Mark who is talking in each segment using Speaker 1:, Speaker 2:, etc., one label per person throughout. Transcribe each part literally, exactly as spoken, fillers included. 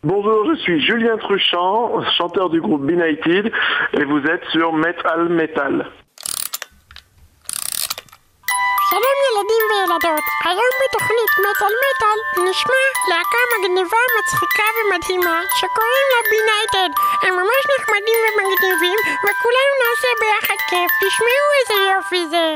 Speaker 1: Bonjour, je suis Julien Truchant, chanteur du groupe Benighted, et vous êtes sur Metal Metal.
Speaker 2: שלום ילדים וילדות, היום בתוכנית מטל מטל נשמע להקה מגניבה, מצחיקה ומדהימה שקוראים לה בינייטד. הם ממש נחמדים ומגניבים וכולנו נעשה ביחד כיף. תשמעו איזה יופי זה.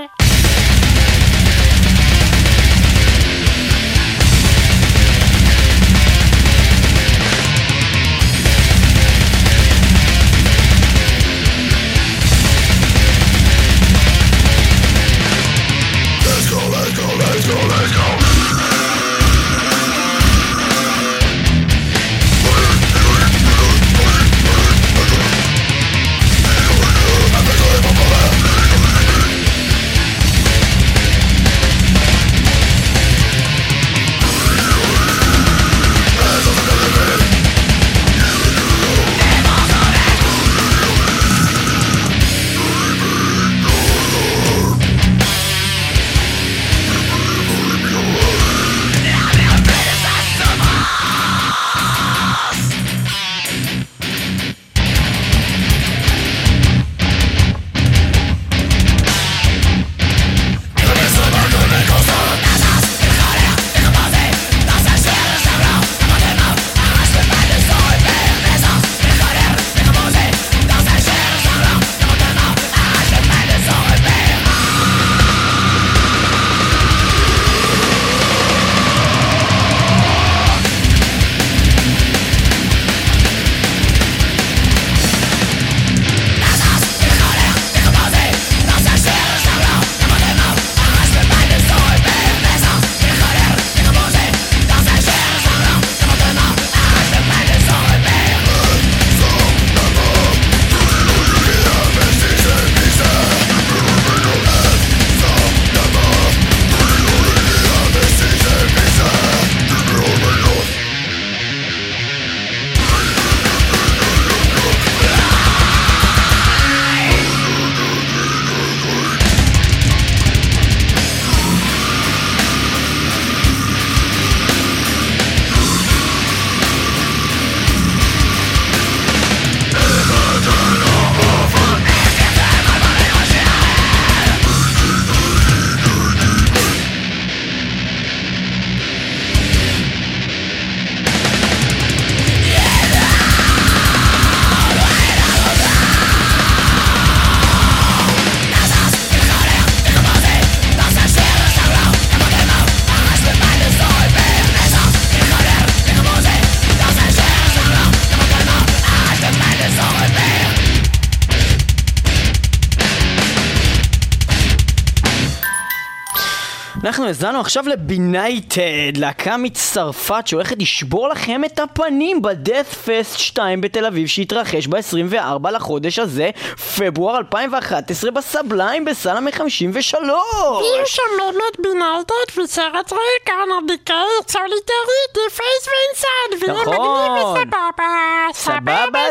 Speaker 3: אנחנו הזנו עכשיו לבינייטד, להקה מצרפת שהולכת לשבור לכם את הפנים בדאט פסט שתיים בתל אביב שהתרחש ב-עשרים וארבעה לחודש הזה, פברואר אלפיים ואחת עשרה בסבליים בסלמה חמישים ושלוש.
Speaker 2: ויהיו שם באמת בינייטד וסרט רעי קרנרדיקי סוליטרי דיפייס ואינסייד ויהיה מגניב וסבבה
Speaker 3: סבבה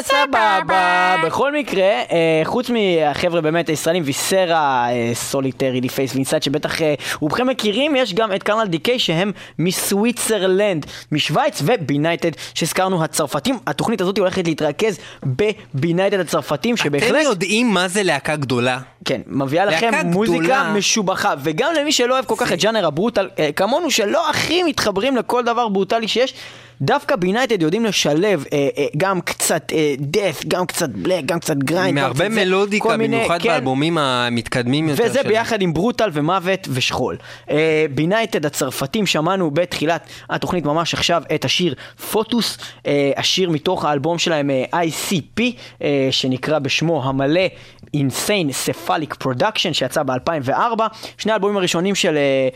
Speaker 3: סבבה. בכל מקרה, חוץ מהחבר'ה באמת הישראלים ויסרה סוליטרי דיפייס ואינסייד שבטח רובכם מכירים, יש גם את קרנל דיקיי שהם מסוויצרלנד, משוויץ, ובינייטד שהזכרנו הצרפתים. התוכנית הזאת הולכת להתרכז בבינייטד הצרפתים שבהחלט...
Speaker 4: אתם יודעים מה זה להקה גדולה?
Speaker 3: כן, מביאה לכם מוזיקה משובחה, וגם למי שלא אוהב כל כך את ג'אנר הברוטל, כמונו שלא הכי מתחברים לכל דבר ברוטלי שיש, דווקא בינייטד יודעים לשלב אה, אה, גם קצת אה, דף, גם קצת בלק, גם קצת גריינד.
Speaker 4: מהרבה מלודיקה, במיוחד כן. באלבומים המתקדמים יותר.
Speaker 3: וזה ביחד של... עם ברוטל ומוות ושכול. אה, בינייטד הצרפתים, שמענו בתחילת התוכנית ממש עכשיו את השיר פוטוס, אה, השיר מתוך האלבום שלהם אה, איי סי פי, אה, שנקרא בשמו המלא Insane Cephalic Production, שיצא ב-אלפיים וארבע. שני האלבומים הראשונים של,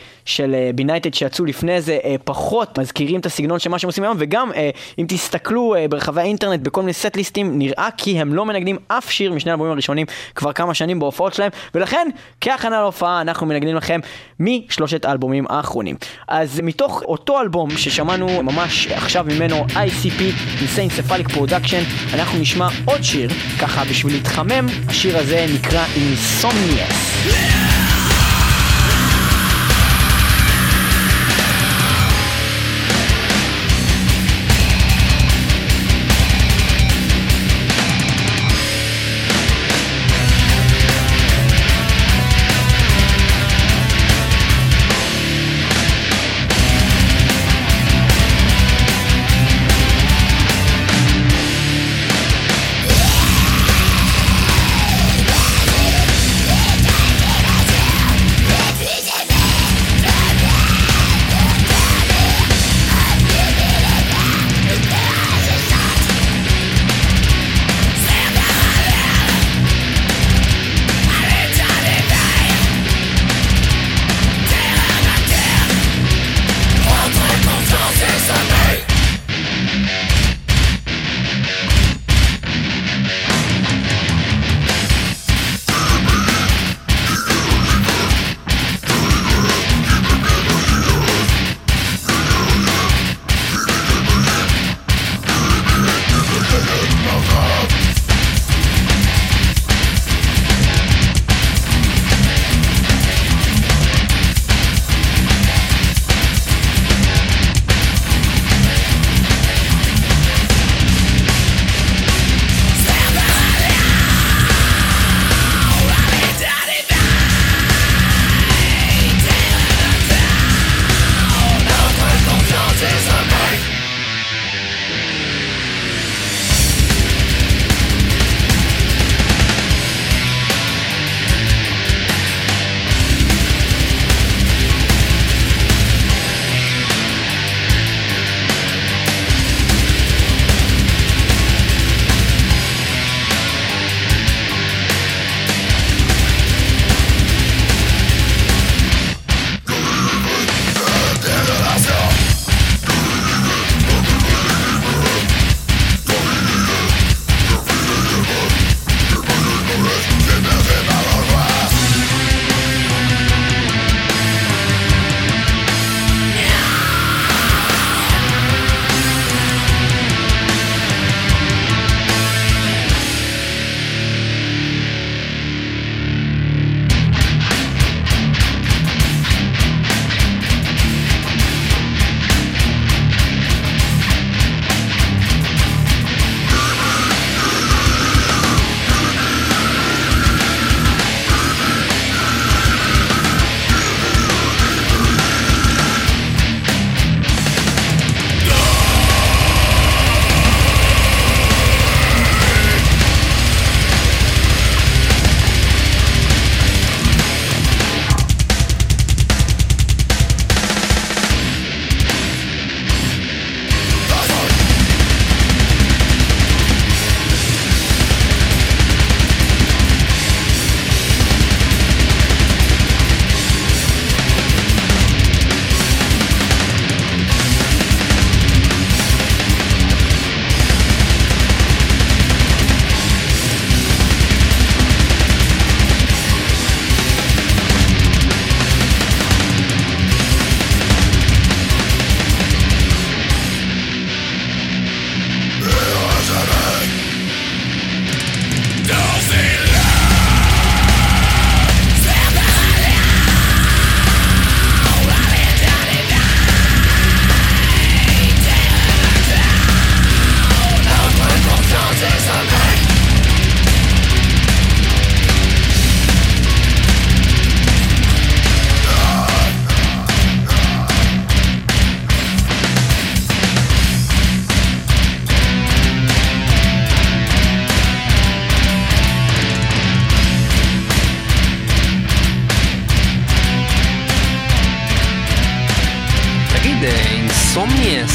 Speaker 3: של בינייטד שיצאו לפני זה פחות מזכירים את הסגנון של מה שהם עושים היום, וגם אם תסתכלו ברחבי האינטרנט בכל מיני סט ליסטים, נראה כי הם לא מנגנים אף שיר משני האלבומים הראשונים כבר כמה שנים בהופעות שלהם, ולכן כהכנה להופעה אנחנו מנגנים לכם משלושת האלבומים האחרונים. אז מתוך אותו אלבום ששמענו ממש עכשיו ממנו איי סי פי Insane Cephalic Production, אנחנו נשמע עוד שיר ככה בשביל להתחמם. השיר הזה נקרא Insomnious.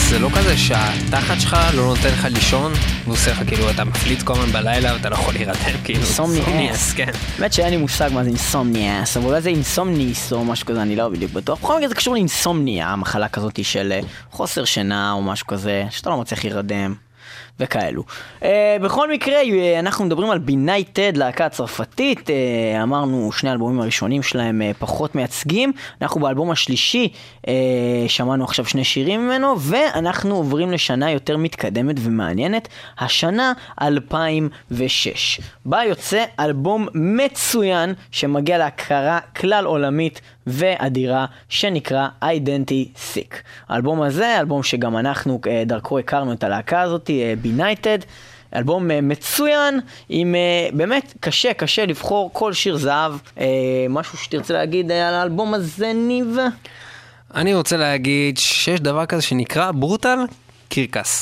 Speaker 4: זה לא כזה שהתחת שלך לא נותן לך לישון, והוא עושה לך כאילו אתה מפליט כל הזמן בלילה ואתה לא יכול להירדם, כאילו
Speaker 3: אינסומניאס,
Speaker 4: כן.
Speaker 3: באמת שאין לי מושג מה זה אינסומניאס, אבל אולי זה אינסומניס או משהו כזה, אני לא בדיוק בטוח. בכל מקרה זה קשור לאינסומניה, המחלה כזאת של חוסר שינה או משהו כזה, שאתה לא מצליח להירדם. וכאלו. Uh, בכל מקרה, אנחנו מדברים על בינייטד, להקה הצרפתית, uh, אמרנו שני האלבומים הראשונים שלהם uh, פחות מייצגים, אנחנו באלבום השלישי uh, שמענו עכשיו שני שירים ממנו, ואנחנו עוברים לשנה יותר מתקדמת ומעניינת, השנה אלפיים ושש. בה יוצא אלבום מצוין שמגיע להכרה כלל עולמית ואדירה שנקרא Identity Sick. האלבום הזה, אלבום שגם אנחנו דרכו הכרנו את הלהקה הזאת, בינייטד, אלבום מצוין, עם באמת קשה קשה לבחור כל שיר זהב. משהו שתרצה להגיד על האלבום הזה, ניב?
Speaker 4: אני רוצה להגיד שיש דבר כזה שנקרא ברוטל קרקס.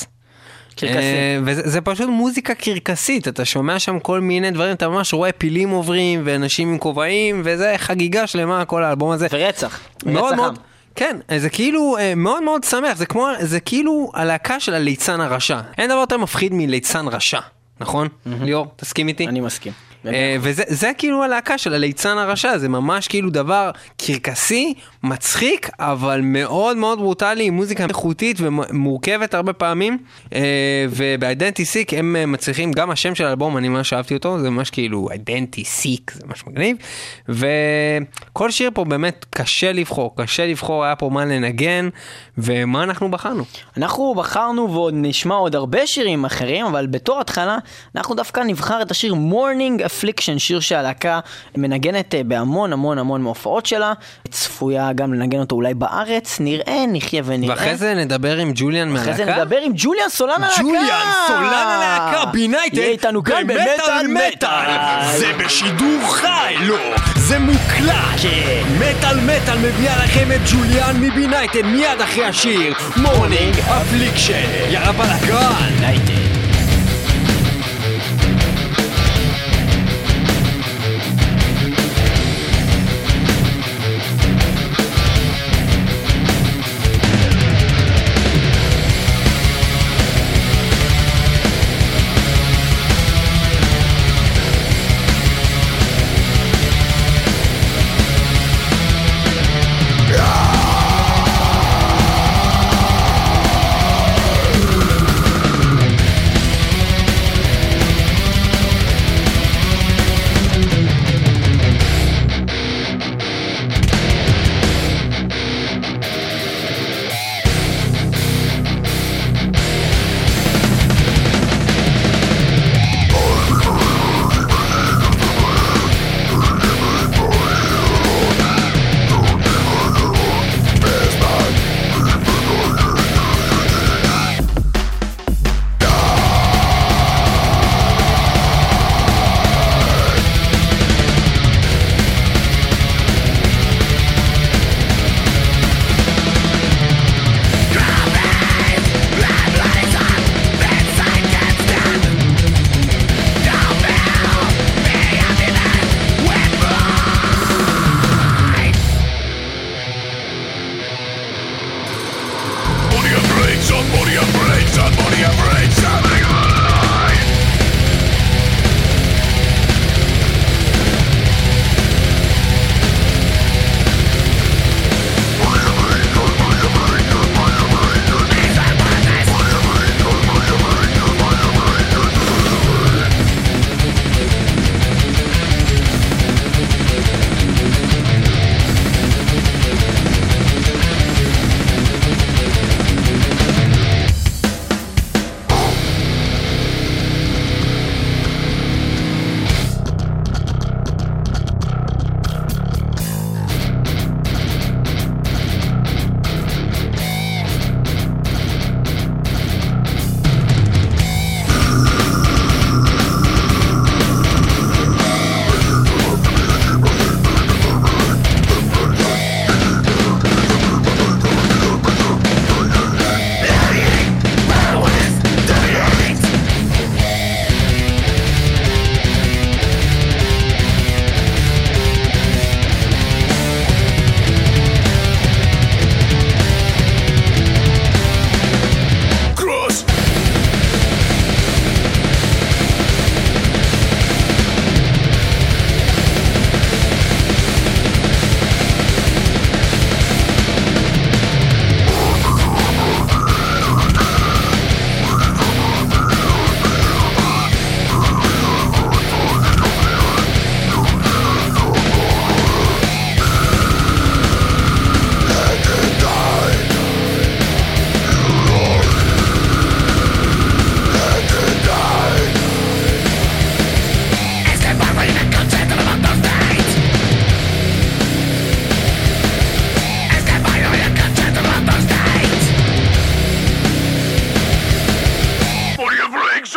Speaker 4: וזה זה פשוט מוזיקה קרקסית, אתה שומע שם כל מיני דברים, אתה ממש רואה פילים עוברים ואנשים עם כובעים, וזה חגיגה שלמה כל האלבום הזה.
Speaker 3: ורצח,
Speaker 4: מאוד
Speaker 3: רצח
Speaker 4: מאוד, כן, זה כאילו מאוד מאוד שמח, זה כמו, זה כאילו הלהקה של הליצן הרשע. אין דבר יותר מפחיד מליצן רשע, נכון? ליאור, תסכים איתי?
Speaker 3: אני מסכים.
Speaker 4: וזה זה כאילו הלהקה של הליצן הרשע, זה ממש כאילו דבר קרקסי, מצחיק, אבל מאוד מאוד ברוטלי, עם מוזיקה איכותית ומורכבת הרבה פעמים, וב-Identity Sick הם מצליחים, גם השם של האלבום, אני ממש אהבתי אותו, זה ממש כאילו Identity Sick, זה ממש מגניב, וכל שיר פה באמת קשה לבחור, קשה לבחור, היה פה מה לנגן, ומה אנחנו בחרנו?
Speaker 3: אנחנו בחרנו ועוד נשמע עוד הרבה שירים אחרים, אבל בתור התחלה, אנחנו דווקא נבחר את השיר Morning Affliction, שיר שהלהקה מנגנת בהמון המון המון מהופעות שלה, צפויה גם לנגן אותו אולי בארץ, נראה, נחיה ונראה.
Speaker 4: ואחרי זה נדבר עם ג'וליאן מהלהקה.
Speaker 3: אחרי זה נדבר עם ג'וליאן סולן הלהקה.
Speaker 4: ג'וליאן סולן הלהקה, בינייטד.
Speaker 3: יהיה איתנו כאן במטל מטל.
Speaker 4: זה בשידור חי, לא, זה מוקלט. מטל מטל מביאה לכם את ג'וליאן מבינייטד מיד אחרי השיר Morning Affliction. יאללה בלגן. בינייטד.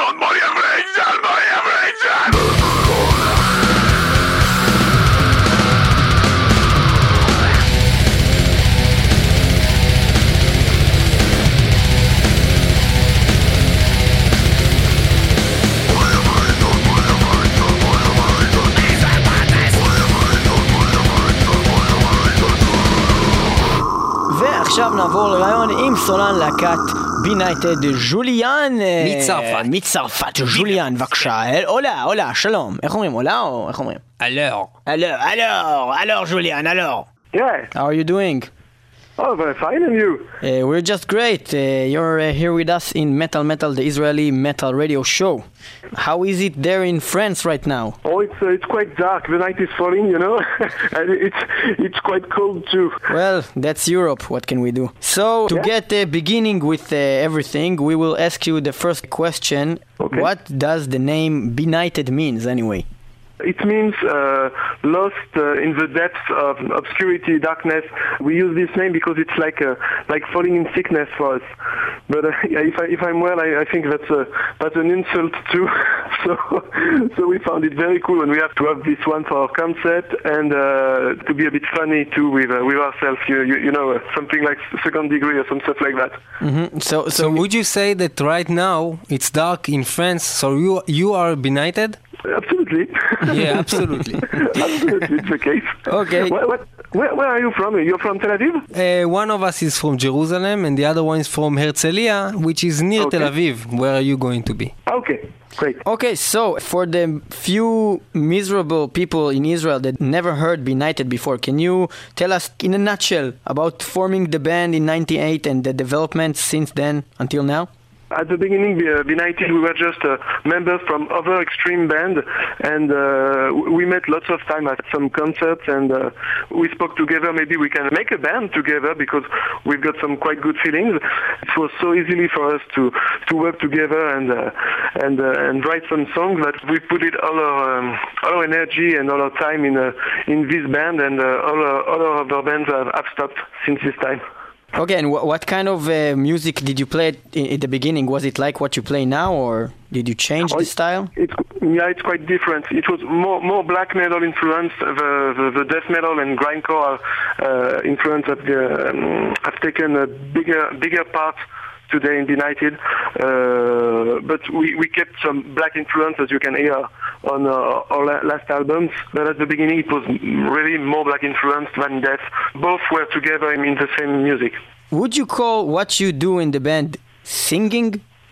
Speaker 1: monde, mon Rachel, mon Rachel.
Speaker 3: ועכשיו נעבור לרעיון עם סולן להקת בינייטד ז'וליאן
Speaker 4: מצרפת.
Speaker 3: מצרפת, ז'וליאן בבקשה. הולה, הולה, שלום. איך אומרים, הולה או איך אומרים?
Speaker 4: אלור.
Speaker 3: אלור, אלור, אלור ז'וליאן, אלור.
Speaker 1: Yeah.
Speaker 3: How are you doing?
Speaker 1: Oh, very fine, and you?
Speaker 3: Uh, we're just great. Uh, you're uh, here with us in Metal Metal, the Israeli metal radio show. How is it there in France right now?
Speaker 1: Oh, it's uh, it's quite dark. The night is falling, you know, and it's it's quite cold too.
Speaker 3: Well, that's Europe. What can we do? So, to
Speaker 1: Yeah.
Speaker 3: get uh, beginning with uh, everything, we will ask you the first question.
Speaker 1: Okay.
Speaker 3: What does the name Benighted means anyway?
Speaker 1: It means uh, lost uh, in the depths of obscurity, darkness. We use this name because it's like uh, like falling in sickness for us. But uh, yeah, if I if I'm well, I, I think that's a, that's an insult too. so so we found it very cool, and we have to have this one for our concept and uh, to be a bit funny too with uh, with ourselves. You you, you know uh, something like second degree or some stuff like that.
Speaker 3: Mm-hmm. So, so,
Speaker 4: So would you say that right now it's dark in France, so you you are benighted?
Speaker 1: Absolutely.
Speaker 4: Yeah, absolutely.
Speaker 1: Absolutely, it's the case.
Speaker 3: Okay.
Speaker 1: What, what, where, where are you from? You're from Tel Aviv?
Speaker 4: Uh, one of us is from Jerusalem and the other one is from Herzliya, which is near
Speaker 1: Okay.
Speaker 4: Tel Aviv. Where are you going to be?
Speaker 1: Okay, great.
Speaker 3: Okay, so for the few miserable people in Israel that never heard Benighted before, can you tell us in a nutshell about forming the band in ninety-eight and the development since then until now?
Speaker 1: At the beginning, uh, Benighted, we were just uh, members from other extreme band, and uh, we met lots of time at some concerts, and uh, we spoke together. Maybe we can make a band together because we've got some quite good feelings. It was so easily for us to, to work together and uh, and uh, and write some songs that we put it all our um, all our energy and all our time in uh, in this band, and uh, all our, all our other bands have, have stopped since this time.
Speaker 3: Okay, and wh- what kind of uh, music did you play in, in the beginning? Was it like what you play now, or did you change
Speaker 1: Oh,
Speaker 3: the
Speaker 1: it-
Speaker 3: style?
Speaker 1: It's, yeah, it's quite different. It was more more black metal influence. The the, the death metal and grindcore uh, influence have, um, have taken a bigger bigger part today in Benighted. Uh, but we, we kept some black influence, as you can hear on uh, our la- last albums. But at the beginning, it was really more black influence than death. Both were together in the same music.
Speaker 3: Would you call what you do in the band singing?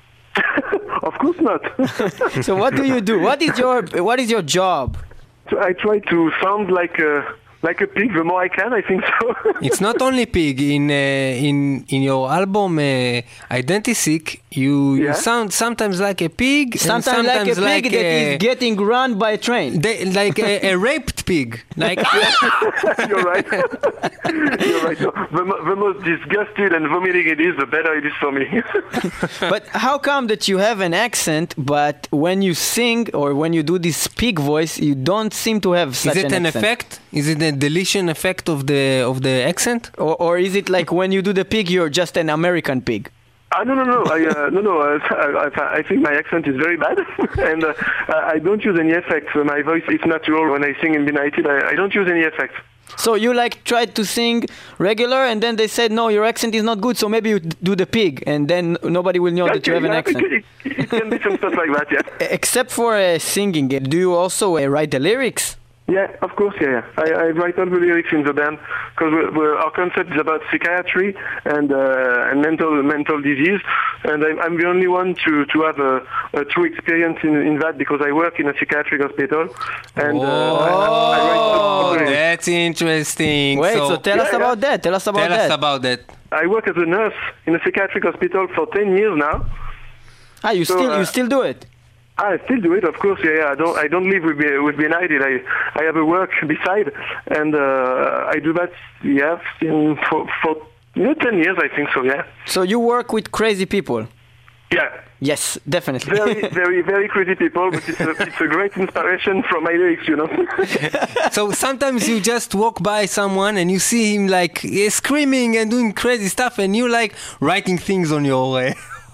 Speaker 1: Of course not.
Speaker 3: So what do you do? What is your what is your job?
Speaker 1: So I try to sound like a like a pig. The more I can, I think so.
Speaker 4: It's not only pig. In uh, in in your album uh, Identisic, you,
Speaker 1: Yeah.
Speaker 4: you sound sometimes like a pig, and
Speaker 3: Sometimes, like a pig
Speaker 4: like
Speaker 3: that
Speaker 4: a,
Speaker 3: is getting run by a train.
Speaker 4: they, like a, a raped pig. Like
Speaker 1: You're right. You're right. No, the, mo- the most disgusted and vomiting it is, the better it is for me.
Speaker 3: But how come that you have an accent, but when you sing or when you do this pig voice, you don't seem to have such
Speaker 4: is it
Speaker 3: an,
Speaker 4: an
Speaker 3: accent?
Speaker 4: effect? Is it a deletion effect of the of the accent?
Speaker 3: Or, or is it like when you do the pig, you're just an American pig?
Speaker 1: Ah, no, no, no. I, uh, no, no. Uh, I, I- I think my accent is very bad, and uh, I don't use any effects. Uh, My voice is natural when I sing in Benighted. I, I don't use any effects.
Speaker 3: So you like tried to sing regular, and then they said no, your accent is not good, so maybe you do the pig, and then nobody will know that you have an
Speaker 1: Yeah,
Speaker 3: accent.
Speaker 1: It, it, it can be some stuff like that, yeah.
Speaker 3: Except for uh, singing, uh, do you also uh, write the lyrics?
Speaker 1: Yeah, of course, yeah, yeah. I, I write all the lyrics in the band because we're, we're, our concept is about psychiatry and uh, and mental mental disease, and I'm, I'm the only one to, to have a, a true experience in, in that because I work in a psychiatric hospital, and uh, I, I write all the
Speaker 4: Oh,
Speaker 1: lyrics.
Speaker 4: that's interesting.
Speaker 3: Wait, so, tell
Speaker 1: Yeah,
Speaker 3: us
Speaker 1: yeah.
Speaker 3: about that. Tell us about
Speaker 4: tell
Speaker 3: that.
Speaker 4: us about that.
Speaker 1: I work as a nurse in a psychiatric hospital for ten years now.
Speaker 3: Ah, you
Speaker 1: So,
Speaker 3: still you
Speaker 1: uh,
Speaker 3: still do it?
Speaker 1: I still do it, of course. Yeah, yeah. I don't. I don't live with Be- with Benighted. I I have a work beside, and uh, I do that. Yeah, in, for for you know, ten years, I think so. Yeah.
Speaker 3: So you work with crazy people?
Speaker 1: Yeah.
Speaker 3: Yes, definitely.
Speaker 1: Very, very, very crazy people, but it's a, it's a great inspiration from my lyrics, you know.
Speaker 4: So sometimes you just walk by someone and you see him like eh, screaming and doing crazy stuff, and you like writing things on your uh,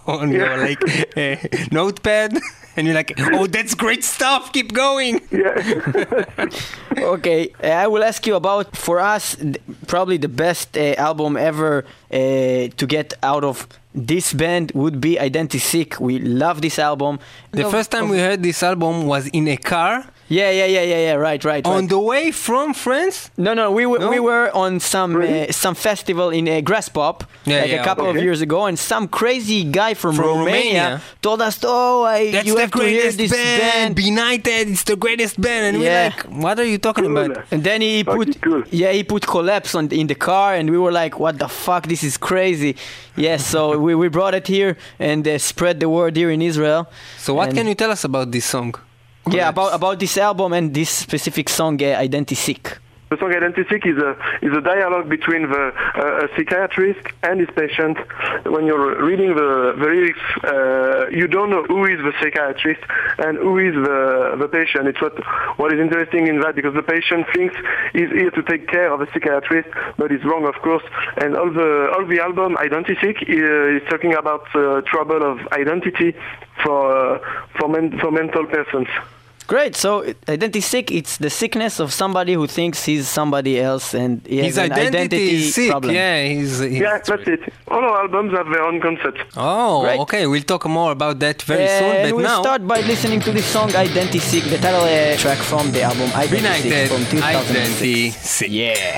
Speaker 4: on your like uh, notepad, and you're like, oh, that's great stuff. Keep going.
Speaker 1: Yeah.
Speaker 3: Okay, uh, I will ask you about, for us, th- probably the best uh, album ever uh, to get out of this band would be Identity Sick. We love this album.
Speaker 4: The
Speaker 3: No,
Speaker 4: first time
Speaker 3: of-
Speaker 4: we heard this album was in a car
Speaker 3: Yeah, yeah, yeah, yeah, yeah, right, right,
Speaker 4: on
Speaker 3: right.
Speaker 4: the way from France.
Speaker 3: No, no, we were
Speaker 4: No?
Speaker 3: we were on some
Speaker 1: Really?
Speaker 3: uh, some festival in uh, Grass Pop
Speaker 4: Yeah,
Speaker 3: like
Speaker 4: yeah,
Speaker 3: a couple of
Speaker 1: okay.
Speaker 3: years ago, and some crazy guy from,
Speaker 4: From
Speaker 3: Romania,
Speaker 4: Romania.
Speaker 3: told us, "Oh, I,
Speaker 4: That's
Speaker 3: you
Speaker 4: the
Speaker 3: have to hear
Speaker 4: greatest
Speaker 3: this
Speaker 4: band.
Speaker 3: band."
Speaker 4: Be United, it's the greatest band. And we're
Speaker 3: Yeah.
Speaker 4: like, what are you talking
Speaker 1: Cool.
Speaker 4: about?
Speaker 3: And then he
Speaker 1: Fuck,
Speaker 3: put,
Speaker 1: it's cool.
Speaker 3: yeah, he put Collapse on in the car, and we were like, "What the fuck? This is crazy." Yes, so we, we brought it here and uh, spread the word here in Israel.
Speaker 4: So what
Speaker 3: And-
Speaker 4: can you tell us about this song?
Speaker 3: Yeah, about
Speaker 4: Collapse.
Speaker 3: about this album and this specific song, uh, Identity Sick.
Speaker 1: The song Identity Sick is a is a dialogue between the uh, a psychiatrist and his patient. When you're reading the, the lyrics, uh, you don't know who is the psychiatrist and who is the the patient. It's what what is interesting in that, because the patient thinks he's here to take care of the psychiatrist, but he's wrong, of course. And all the all the album Identity Sick uh, is talking about uh, trouble of identity for uh, for men, for mental persons.
Speaker 3: Great. So Identity Sick, it's the sickness of somebody who thinks he's somebody else and he has
Speaker 4: His
Speaker 3: an
Speaker 4: identity,
Speaker 3: identity
Speaker 4: is sick.
Speaker 3: problem.
Speaker 4: Yeah, he's, he's
Speaker 1: Yeah, that's it. All our albums have their own concept.
Speaker 4: Oh,
Speaker 3: Great.
Speaker 4: okay. We'll talk more about that very
Speaker 3: Uh,
Speaker 4: soon.
Speaker 3: and
Speaker 4: But
Speaker 3: we'll
Speaker 4: now,
Speaker 3: start by listening to this song Identity Sick, the title uh, track from the album Identity Sick
Speaker 4: United,
Speaker 3: from two thousand six.
Speaker 4: Identity Sick.
Speaker 3: Yeah.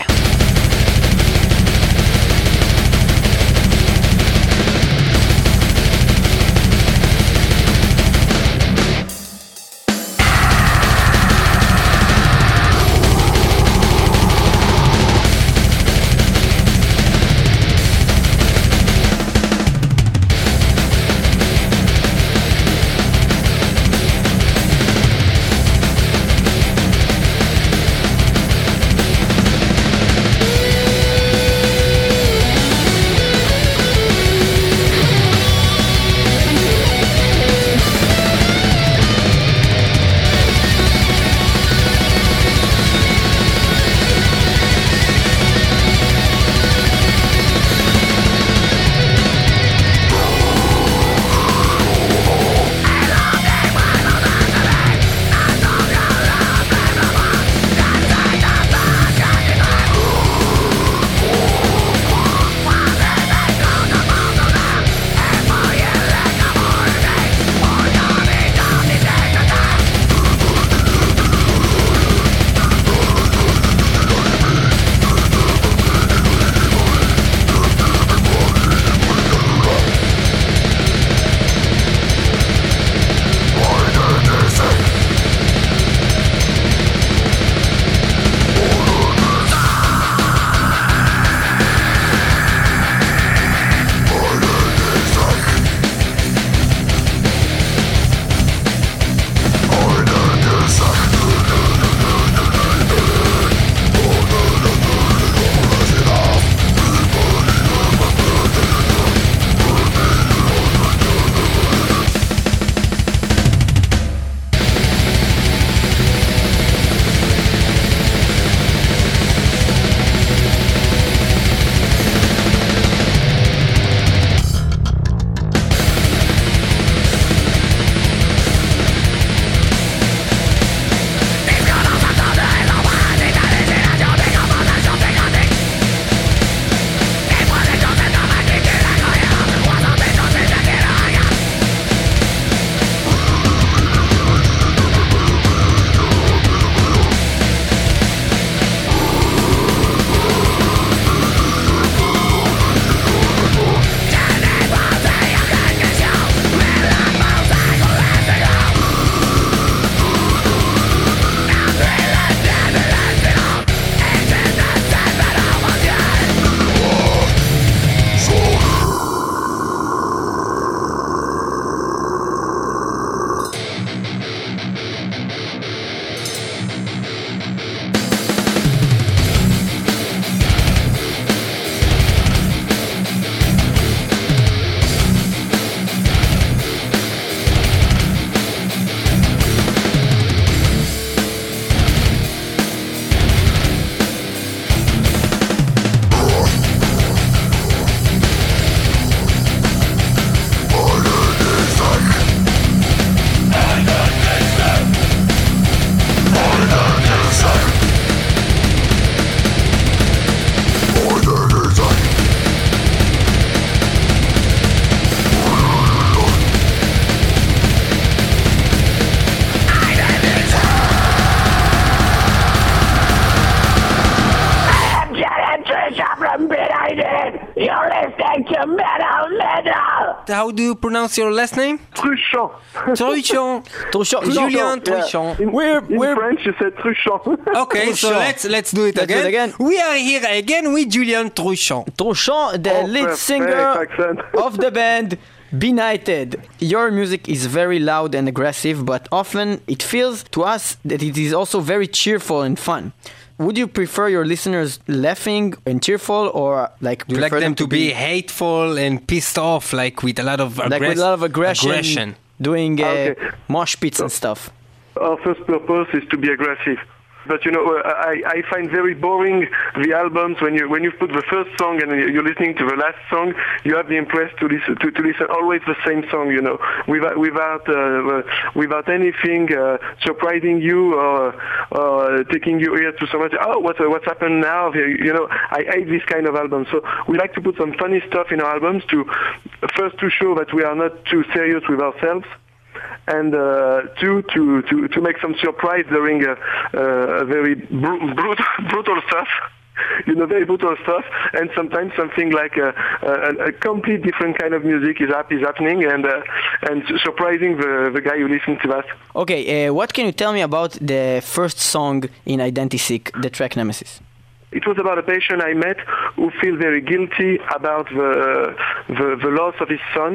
Speaker 4: how do you pronounce your last name?
Speaker 1: Truchon.
Speaker 4: Truchon.
Speaker 3: Truchon.
Speaker 4: Julian
Speaker 1: Yeah.
Speaker 4: Truchon.
Speaker 1: In,
Speaker 3: We're-
Speaker 1: in
Speaker 3: we're-
Speaker 1: French, you said Truchon.
Speaker 4: Okay, so
Speaker 3: Truchon.
Speaker 4: let's let's do it
Speaker 3: Let's do
Speaker 4: again.
Speaker 3: it again.
Speaker 4: We are here again with Julian Truchon.
Speaker 3: Truchon, the
Speaker 1: Oh,
Speaker 3: lead
Speaker 1: perfect
Speaker 3: singer
Speaker 1: accent.
Speaker 3: of the band Benighted. Your music is very loud and aggressive, but often it feels to us that it is also very cheerful and fun. Would you prefer your listeners laughing and cheerful, or like
Speaker 4: You like them to be hateful and pissed off, like with a lot of
Speaker 3: like
Speaker 4: aggress-
Speaker 3: with a lot of aggression,
Speaker 4: aggression.
Speaker 3: doing uh,
Speaker 1: Okay.
Speaker 3: mosh pits and stuff?
Speaker 1: Our first purpose is to be aggressive. But you know, uh, I, I find very boring the albums when you when you put the first song and you're listening to the last song, you have the impress to listen to, to listen always the same song, you know, without without uh, without anything uh, surprising you or, or taking your ear to so much. Oh, what what's happened now? You know, I hate this kind of album. So we like to put some funny stuff in our albums to first to show that we are not too serious with ourselves. And uh, two, to, to, to make some surprise during a, a very br- brutal, brutal stuff, you know, very brutal stuff, and sometimes something like a, a, a complete different kind of music is, up, is happening, and uh, and surprising the, the guy who listens to us.
Speaker 3: Okay, uh, what can you tell me about the first song in Identisic, the track Nemesis?
Speaker 1: It was about a patient I met who feels very guilty about the, the, the loss of his son.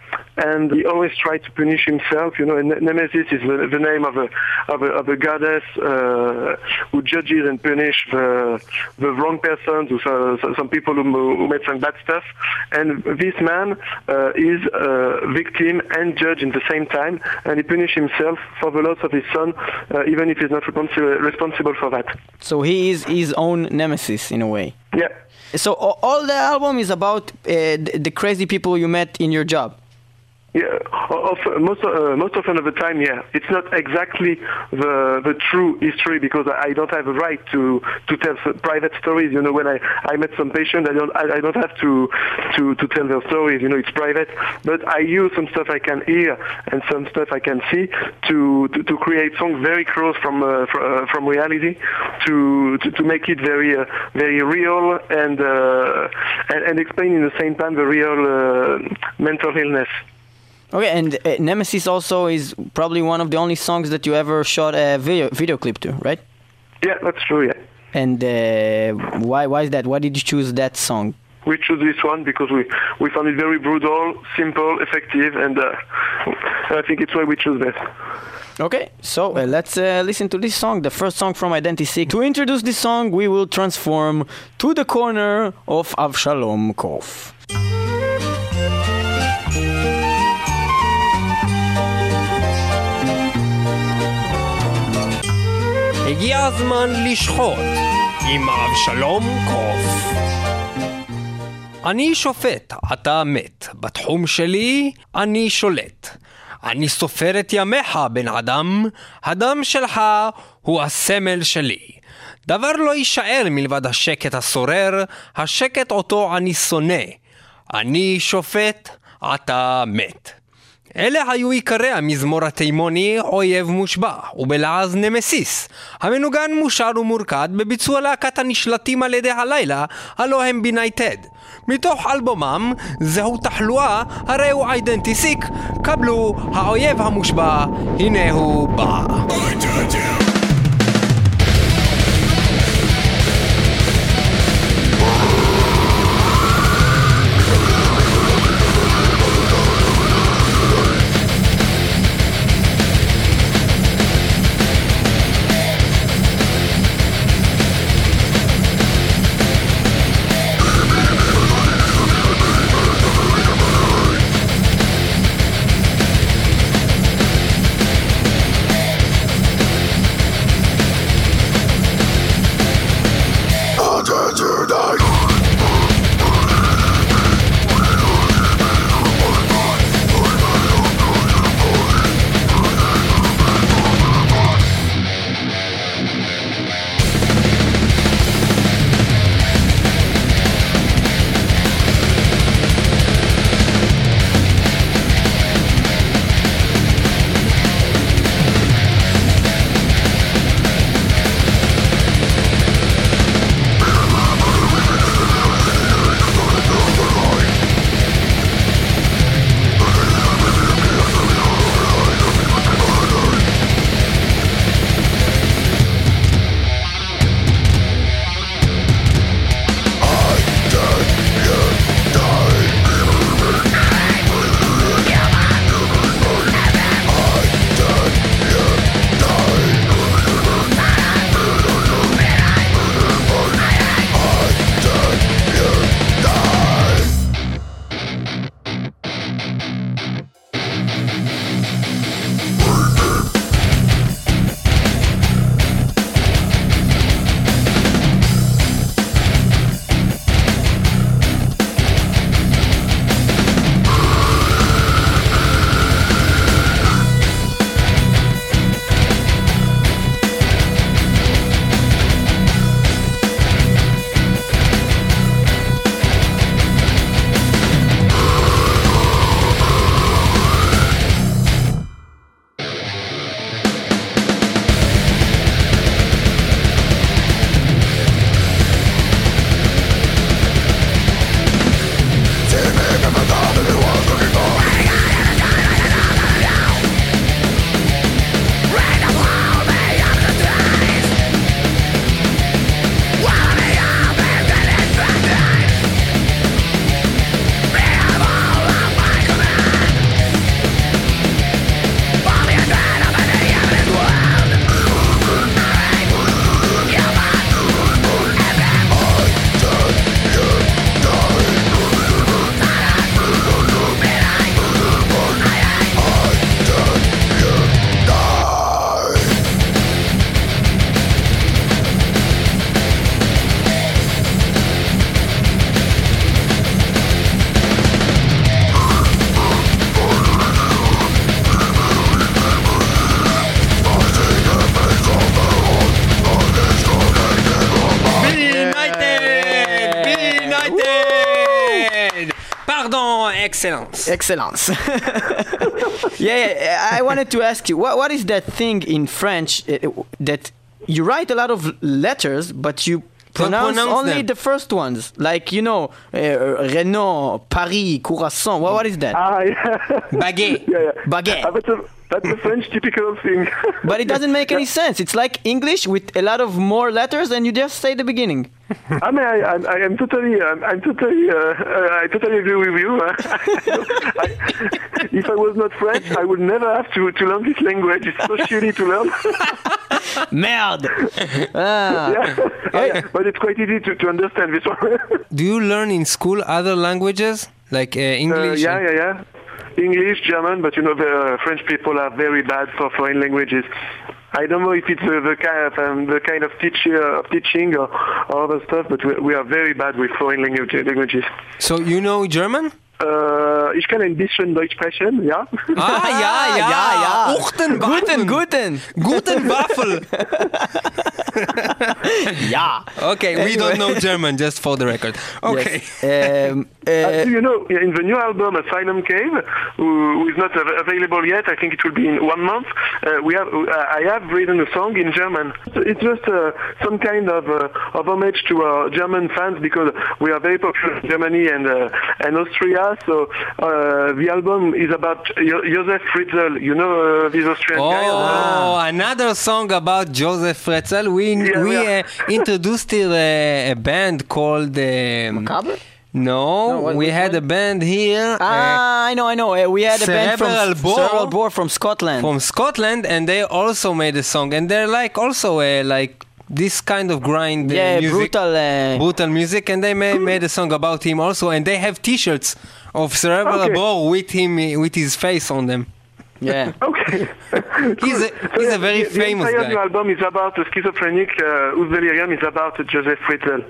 Speaker 1: And he always tried to punish himself, you know. And Nemesis is the, the name of a of a, of a goddess uh, who judges and punish the the wrong persons, who, uh, some people who, who made some bad stuff. And this man uh, is a victim and judge in the same time, and he punished himself for the loss of his son, uh, even if he's not responsible responsible for that.
Speaker 3: So he is his own nemesis in a way.
Speaker 1: Yeah.
Speaker 3: So a- all the album is about uh, the, the crazy people you met in your job.
Speaker 1: Yeah, of, most uh, most often of the time, yeah. It's not exactly the the true history because I, I don't have a right to to tell s- private stories. You know, when I, I met some patients, I don't I, I don't have to, to to tell their stories. You know, it's private. But I use some stuff I can hear and some stuff I can see to to, to create songs very close from uh, fr- uh, from reality, to, to to make it very uh, very real and, uh, and and explain in the same time the real uh, mental illness.
Speaker 3: Okay, and uh, Nemesis also is probably one of the only songs that you ever shot a video video clip to, right?
Speaker 1: Yeah, that's true. Yeah.
Speaker 3: And uh, why why is that? Why did you choose that song?
Speaker 1: We chose this one because we, we found it very brutal, simple, effective, and uh, I think it's why we chose that.
Speaker 3: Okay, so uh, let's uh, listen to this song, the first song from Identisic. To introduce this song, we will transform to the corner of Avshalom Kof.
Speaker 4: הגיע הזמן לשחוט עם אבשלום קוף. אני שופט, אתה מת. בתחום שלי אני שולט. אני סופר את ימיך, בן אדם. הדם שלך הוא הסמל שלי. דבר לא יישאר מלבד השקט השורר, השקט אותו אני שונא. אני שופט, אתה מת. אלה היו עיקרי המזמור התימוני אויב מושבע, ובלעז נמסיס. המנוגן מושר ומורכד בביצוע להקת הנשלטים על ידי הלילה, הלא הם בינייטד. מתוך אלבומם, זהו תחלואה, הרי הוא אידנטיסיק. קבלו, האויב המושבע, הנה הוא בא. Excellence.
Speaker 3: Excellence. yeah, yeah, I wanted to ask you, what, what is that thing in French uh, that you write a lot of letters, but you pronounce,
Speaker 4: pronounce
Speaker 3: only
Speaker 4: them.
Speaker 3: the first ones? Like, you know, uh, Renault, Paris, Curacao. What, what is that?
Speaker 1: Ah, yeah.
Speaker 4: Baguette.
Speaker 1: yeah, yeah.
Speaker 3: Baguette.
Speaker 1: Ah, that's, a, that's a French typical thing.
Speaker 3: But it doesn't make any sense. It's like English with a lot of more letters and you just say the beginning.
Speaker 1: I mean, I, I, I am totally, I'm, I'm totally, uh, uh, I totally agree with you. I, if I was not French, I would never have to, to learn this language. It's so shitty to learn.
Speaker 3: Merde. Ah.
Speaker 1: yeah. Oh, yeah. But it's quite easy to, to understand this one.
Speaker 4: Do you learn in school other languages like uh, English?
Speaker 1: Uh, yeah, yeah, yeah. English, German, but you know the uh, French people are very bad for foreign languages. I don't know if it's uh, the kind of um, the kind of teach, uh, of teaching or, or other stuff, but we, we are very bad with foreign language, languages.
Speaker 4: So you know German?
Speaker 1: Äh, ich kann ein bisschen Deutsch sprechen, ja.
Speaker 4: Ah, ja, ja,
Speaker 3: ja, ja.
Speaker 4: Uchten,
Speaker 3: Guten, guten.
Speaker 4: Guten Waffel.
Speaker 3: Ja.
Speaker 4: Okay, we don't know German, just for the record. Okay.
Speaker 3: Yes. Um, uh,
Speaker 1: Uh, do you know, in the new album Asylum Cave, who, who is not av- available yet, I think it will be in one month, uh, we have, uh, I have written a song in German. It's just uh, some kind of, uh, of homage to our German fans because we are very popular in Germany and, uh, and Austria. So uh, the album is about jo- Josef Fritzl, you know uh, this Austrian guy?
Speaker 4: Oh, another song about Josef Fritzl. We
Speaker 1: Yeah,
Speaker 4: we
Speaker 1: yeah.
Speaker 4: uh, introduced here a, a band called. Um,
Speaker 3: Macabre?
Speaker 4: no,
Speaker 3: No, what-
Speaker 4: we
Speaker 3: which
Speaker 4: had
Speaker 3: one?
Speaker 4: a band here. uh,
Speaker 3: Ah, I know, I know. Uh, we had a band from
Speaker 4: Cerebral Bore.
Speaker 3: Cerebral Bore from Scotland.
Speaker 4: from Scotland, and they also made a song, and they're like also a like this kind of grind uh,
Speaker 3: yeah,
Speaker 4: music,
Speaker 3: brutal. Uh,
Speaker 4: brutal music, and they made, made a song about him also, and they have T-shirts of Cerebral
Speaker 1: Okay.
Speaker 4: Bore with him with his face on them.
Speaker 3: yeah.
Speaker 1: Okay.
Speaker 4: He's a- he's a very
Speaker 1: the,
Speaker 4: famous
Speaker 1: the entire
Speaker 4: guy.
Speaker 1: new album is about a schizophrenic, uh, whose delirium is about Josef Fritzl.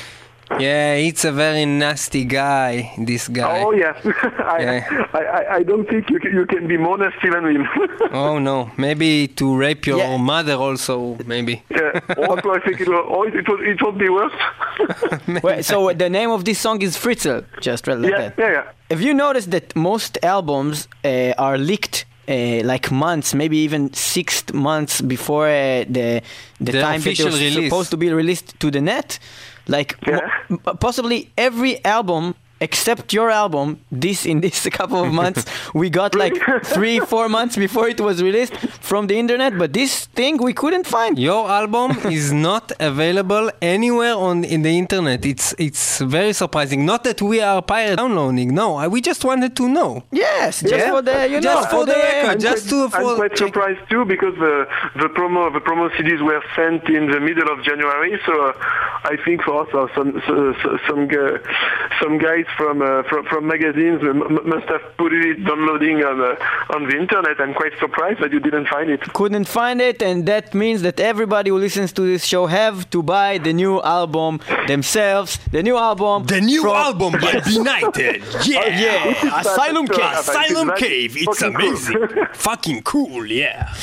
Speaker 4: Yeah, it's a very nasty guy. This guy.
Speaker 1: Oh yeah, I,
Speaker 4: Yeah.
Speaker 1: I, I, I don't think you can, you can be more nasty than him.
Speaker 4: Oh no, maybe to rape your
Speaker 3: Yeah.
Speaker 4: mother also, maybe.
Speaker 1: yeah. Also, I think it will. Oh, it will. It will be worse.
Speaker 3: Wait, so the name of this song is Fritzl, just like
Speaker 1: yeah,
Speaker 3: that.
Speaker 1: yeah, yeah.
Speaker 3: Have you noticed that most albums uh, are leaked uh, like months, maybe even six months before uh, the the
Speaker 4: The
Speaker 3: time that
Speaker 4: official
Speaker 3: they're
Speaker 4: release.
Speaker 3: supposed to be released to the net? Like
Speaker 1: Yeah.
Speaker 3: mo- possibly every album except your album, this in this couple of months, we got like three, four months before it was released from the internet. But this thing we couldn't find.
Speaker 4: Your album is not available anywhere on in the internet. It's it's very surprising. Not that we are pirate downloading. No, I- we just wanted to know.
Speaker 3: Yes, just
Speaker 1: Yeah.
Speaker 3: for the you
Speaker 4: Just
Speaker 3: know
Speaker 4: for the record.
Speaker 1: I'm
Speaker 4: Just
Speaker 1: quite,
Speaker 4: to- for-
Speaker 1: I'm quite
Speaker 4: check-
Speaker 1: surprised too because the the promo the promo C Ds were sent in the middle of January. So uh, I think for us, uh, some so, so, some gu- some guys from uh, from from magazines m- m- must have put it downloading on uh, on the internet. I'm quite surprised that you didn't find it.
Speaker 3: couldn't find it, and that means that everybody who listens to this show have to buy the new album themselves. The new album.
Speaker 5: The new
Speaker 3: from-
Speaker 5: album by Benighted. Yeah.
Speaker 3: Yeah, Asylum
Speaker 1: That's, uh,
Speaker 3: Cave.
Speaker 5: Asylum
Speaker 1: It's
Speaker 5: Cave. It's
Speaker 1: fucking cool.
Speaker 5: amazing. Fucking cool, yeah.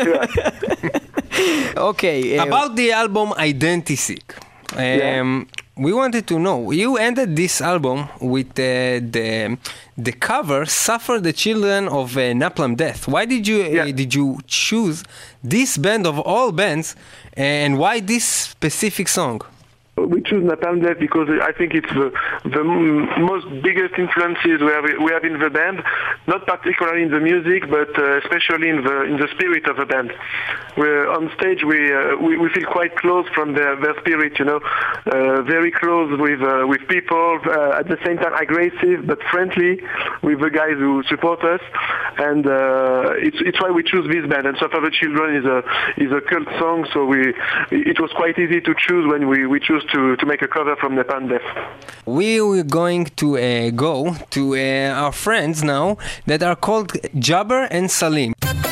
Speaker 3: Okay. uh,
Speaker 4: About the album Identisic, um, we wanted to know. You ended this album with uh, the the cover "Suffer the Children of uh, Napalm Death." Why did you uh,
Speaker 1: Yeah.
Speaker 4: did you choose this band of all bands, and why this specific song?
Speaker 1: We choose Napalm Death because I think it's the, the m- most biggest influences we have, we have in the band, not particularly in the music, but uh, especially in the in the spirit of the band. We're on stage, we uh, we, we feel quite close from their, their spirit, you know, uh, very close with uh, with people, uh, at the same time aggressive but friendly with the guys who support us, and uh, it's it's why we choose this band. And Suffer the Children is a is a cult song, so we it was quite easy to choose when we we choose to, to make a cover from Napalm Death.
Speaker 4: We were going to uh, go to uh, our friends now that are called Jabber and Salim.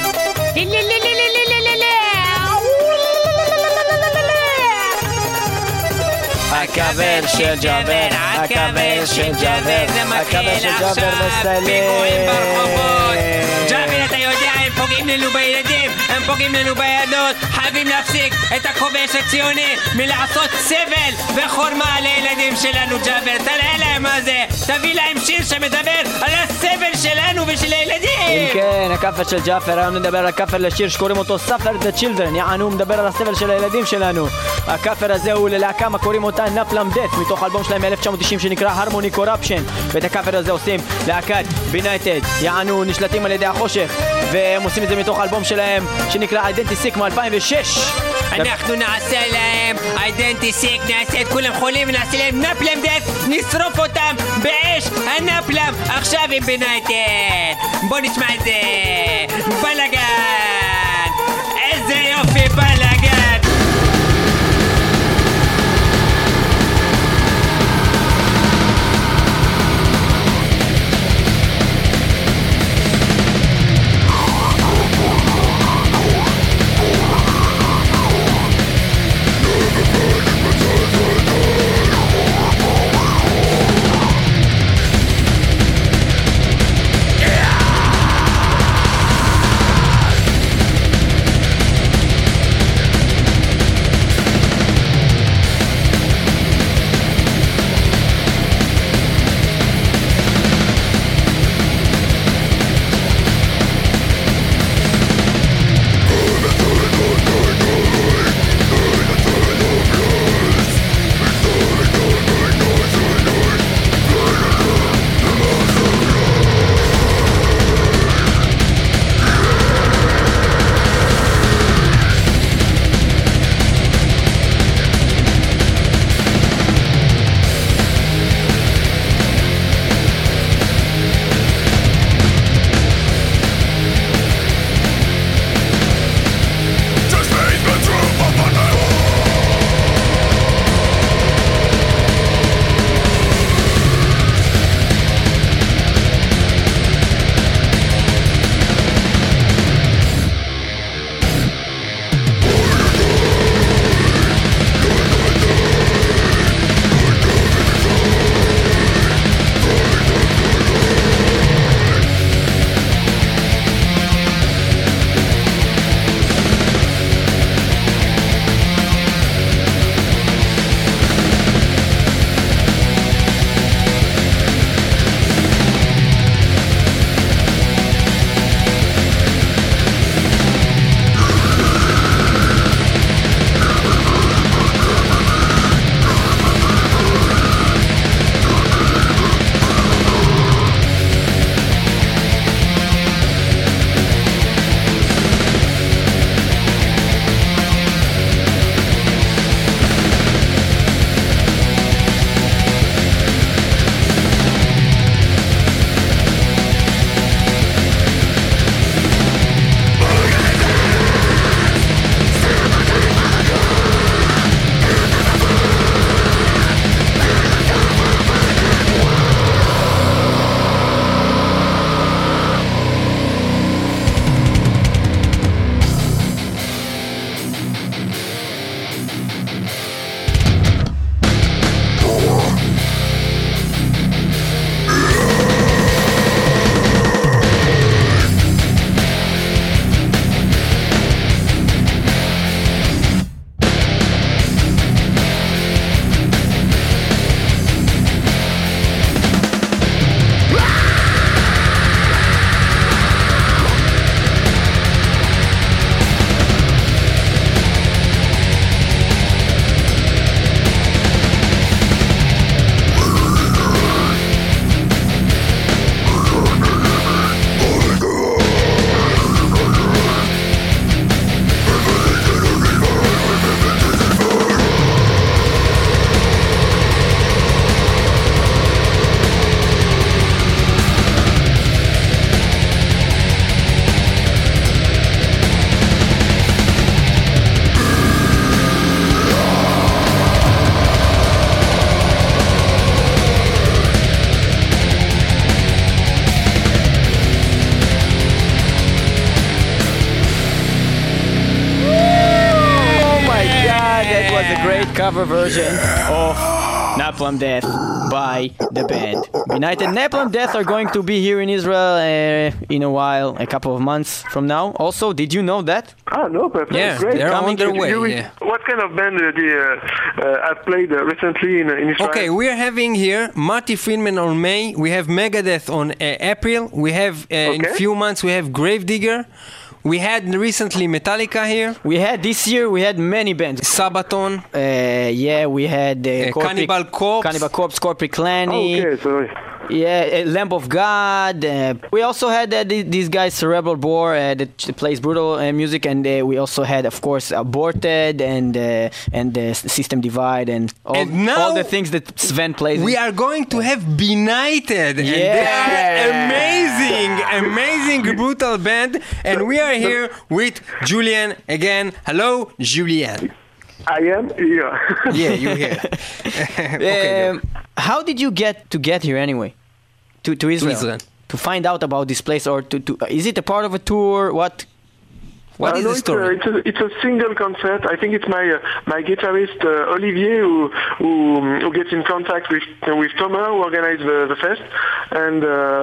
Speaker 3: הכבל של ג'אבר, הכבל של ג'אבר, הכבל של ג'אבר וסלים.
Speaker 4: ג'אבר, אתה יודע איפה פוגעים לנו בילדים, הם פוגעים לנו בילדות. חייבים להפסיק את הכובש הציוני מלעשות סבל וחורמה לילדים שלנו. ג'אבר, תראה להם מה זה, תביא להם שיר שמדבר על הסבל שלנו ושל הילדים.
Speaker 3: אם כן, הכפר של ג'אפר, היום נדבר על הכפר לשיר שקוראים אותו ספר the children, יענו מדבר על הסבל של הילדים שלנו. הכפר הזה הוא ללהקה קוראים אותה נפלם דף, מתוך אלבום שלהם מ-אלף תשע מאות תשעים שנקרא הרמוני קורפשן, ואת הכפר הזה עושים להקת בינייטד, יענו נשלטים על ידי החושך, והם עושים את זה מתוך אלבום שלהם שנקרא אידנטי סיק מ-אלפיים ושש.
Speaker 4: אנחנו נעשה להם אידנטי סיק, נעשה את כולם חולים ונעשה להם נפלם דף, נשרוף אותם באש הנפלם עכשיו עם בינייטד. בוא נשמע את זה. בלגן, איזה יופי בלגן.
Speaker 3: cover version of Napalm Death by the band Benighted. Napalm Death are going to be here in Israel uh, in a while, a couple of months from now. Also, did you know that?
Speaker 1: Ah, no, perfect.
Speaker 4: Yeah,
Speaker 1: Great.
Speaker 4: they're
Speaker 3: Coming
Speaker 4: on their
Speaker 3: to-
Speaker 4: way.
Speaker 1: You- you-
Speaker 4: Yeah.
Speaker 1: What kind of band uh, they uh, uh, have played uh, recently in, in Israel?
Speaker 4: Okay, we are having here Marty Friedman on May. We have Megadeth on uh, April. We have uh, in a
Speaker 1: Okay.
Speaker 4: few months we have Gravedigger. We had recently Metallica here.
Speaker 3: We had this year, we had many bands.
Speaker 4: Sabaton.
Speaker 3: Uh, yeah, we had uh,
Speaker 4: Uh,
Speaker 3: Corpse-
Speaker 4: Cannibal Corpse.
Speaker 3: Cannibal Corpse, Corpse Clanny.
Speaker 1: Okay, sorry.
Speaker 3: Yeah, uh, Lamb of God. Uh, we also had uh, th- these guys, Cerebral Bore, uh, that plays brutal uh, music, and uh, we also had, of course, Aborted and uh, and uh, System Divide and all,
Speaker 4: And now
Speaker 3: all the things that Sven plays.
Speaker 4: We
Speaker 3: in.
Speaker 4: are going to have Benighted, and they are
Speaker 3: Yeah.
Speaker 4: amazing, amazing brutal band. And we are here with Julian again. Hello, Julian.
Speaker 1: I am here.
Speaker 4: Yeah, you here? Okay,
Speaker 3: Um, how did you get to get here anyway? To to Israel.
Speaker 4: Israel.
Speaker 3: To find out about this place, or to, to is it a part of a tour? What?
Speaker 4: what
Speaker 1: Uh,
Speaker 4: is
Speaker 1: no,
Speaker 4: the
Speaker 1: it's
Speaker 4: story?
Speaker 1: A, it's, a, it's a single concert. I think it's my uh, my guitarist uh, Olivier who, who who gets in contact with with Thomas who organized the, the fest, and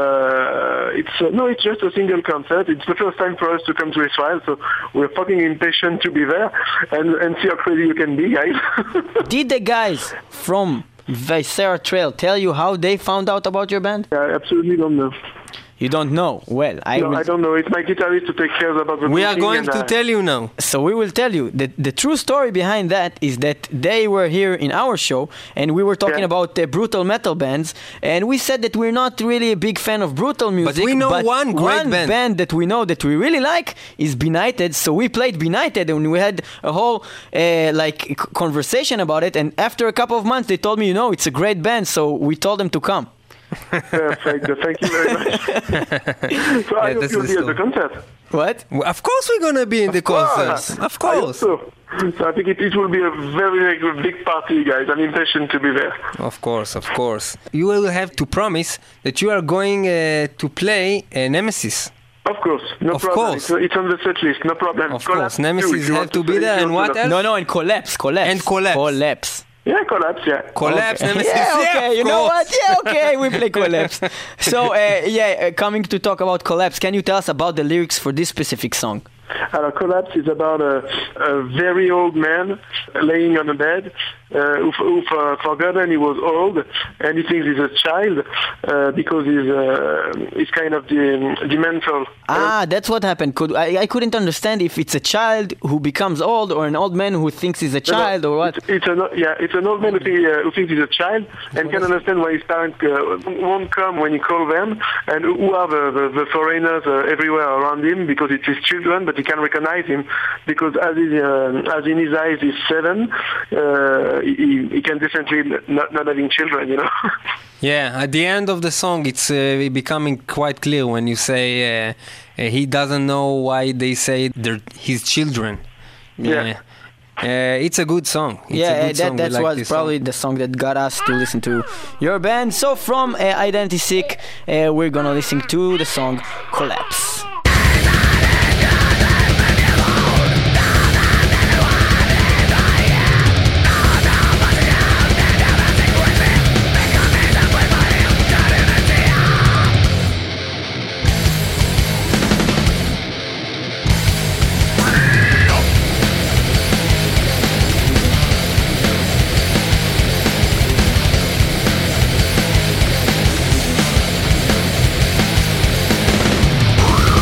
Speaker 1: uh, it's uh, no, it's just a single concert. It's the first time for us to come to Israel, so we're fucking impatient to be there and and see how crazy you can be, guys.
Speaker 3: Did the guys from Visera Trail tell you how they found out about your band?
Speaker 1: I absolutely don't know.
Speaker 3: You don't know. Well, I
Speaker 1: No,
Speaker 3: will.
Speaker 1: I don't know. It's my guitarist to take care about the
Speaker 4: We are
Speaker 1: booking
Speaker 4: going
Speaker 1: and,
Speaker 4: to
Speaker 1: uh,
Speaker 4: tell you now.
Speaker 3: So we will tell you that the true story behind that is that they were here in our show and we were talking
Speaker 1: Yeah.
Speaker 3: about uh, brutal metal bands, and we said that we're not really a big fan of brutal music.
Speaker 4: we know one great
Speaker 3: one
Speaker 4: band.
Speaker 3: that we know that we really like is Benighted. So we played Benighted and we had a whole uh, like c- conversation about it. And after a couple of months, they told me, you know, it's a great band. So we told them to come.
Speaker 1: Perfect. Thank you very much. So I
Speaker 4: Yeah,
Speaker 1: hope
Speaker 4: that's
Speaker 1: you'll
Speaker 4: the
Speaker 1: be at the
Speaker 4: story.
Speaker 1: concert.
Speaker 3: What?
Speaker 4: Well, Of course we're gonna be in the concert. Of
Speaker 1: I hope
Speaker 4: course.
Speaker 1: so. So I think it, it will be a very, very big party, guys. I'm impatient to be there.
Speaker 4: Of course, of course. You will have to promise that you are going uh, to play uh, Nemesis.
Speaker 1: Of course, no
Speaker 4: Of
Speaker 1: problem.
Speaker 4: course.
Speaker 1: It's, it's on the set list, no problem.
Speaker 4: Of
Speaker 1: Collapse
Speaker 4: course,
Speaker 1: too,
Speaker 4: Nemesis
Speaker 1: if you
Speaker 4: have
Speaker 1: want
Speaker 4: to be
Speaker 1: say-
Speaker 4: there,
Speaker 1: if you
Speaker 4: and
Speaker 1: want
Speaker 4: what
Speaker 1: to-
Speaker 4: else?
Speaker 3: No, no, and collapse, collapse.
Speaker 4: And collapse.
Speaker 3: Collapse.
Speaker 1: Yeah, collapse. Yeah.
Speaker 4: Collapse,
Speaker 3: Okay.
Speaker 4: Nemesis.
Speaker 3: Yeah, okay,
Speaker 4: of
Speaker 3: you know
Speaker 4: course.
Speaker 3: what? Yeah, okay, we play Collapse. So, uh, yeah, uh, coming to talk about Collapse, can you tell us about the lyrics for this specific song?
Speaker 1: Uh, Collapse is about a, a very old man laying on a bed uh, who, who for, forgotten he was old, and he thinks he's a child uh, because he's uh, he's kind of the, the mental.
Speaker 3: Ah, that's what happened. Could I, I couldn't understand if it's a child who becomes old or an old man who thinks he's a child or what.
Speaker 1: It's, it's an yeah, it's an old man who, think, uh, who thinks he's a child and can understand why his parents uh, won't come when he calls them, and who are the, the, the foreigners uh, everywhere around him because it's his children, but he can recognize him because as he, uh, as in his eyes he's seven, uh, he, he can definitely not, not having children, you know.
Speaker 4: Yeah, at the end of the song, it's uh, becoming quite clear when you say uh, uh, he doesn't know why they say they're his children.
Speaker 1: Yeah.
Speaker 4: Uh, it's a good song. It's
Speaker 3: Yeah,
Speaker 4: a
Speaker 3: uh,
Speaker 4: good
Speaker 3: that
Speaker 4: song. We
Speaker 3: that
Speaker 4: like
Speaker 3: was
Speaker 4: this
Speaker 3: probably
Speaker 4: song.
Speaker 3: the song that got us to listen to your band. So from uh, Identity Sick, uh, we're gonna listen to the song Collapse.
Speaker 6: Collapse.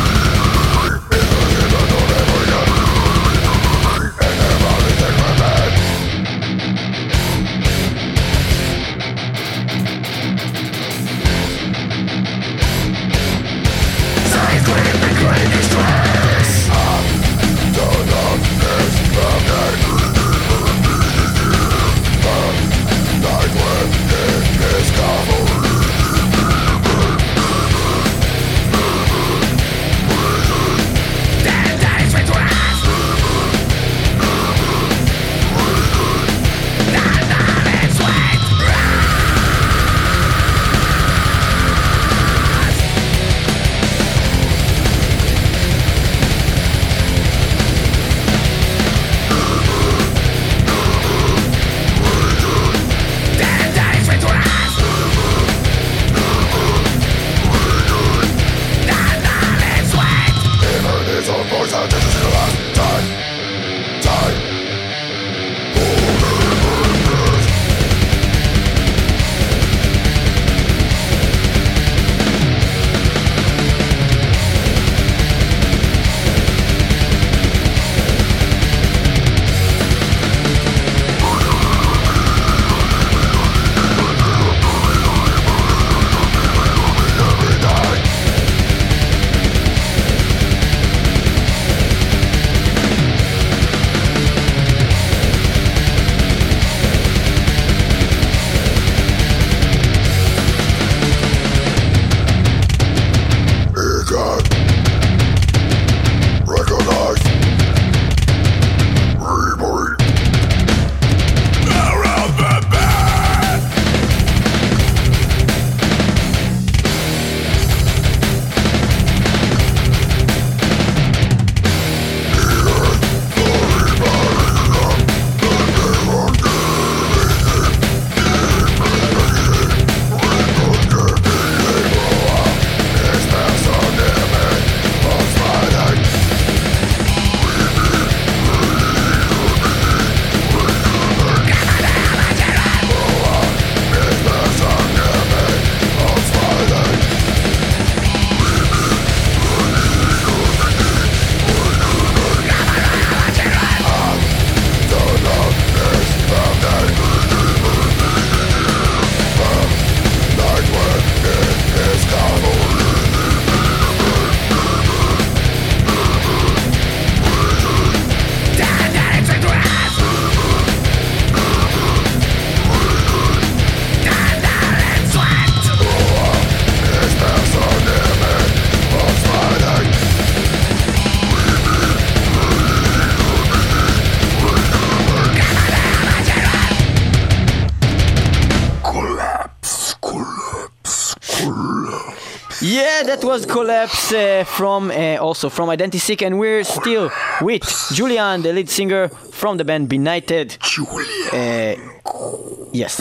Speaker 3: Yeah, that was Collapse uh, from uh, also from Identisic, and we're still with Julian, the lead singer from the band Benighted. Julian. Uh, yes.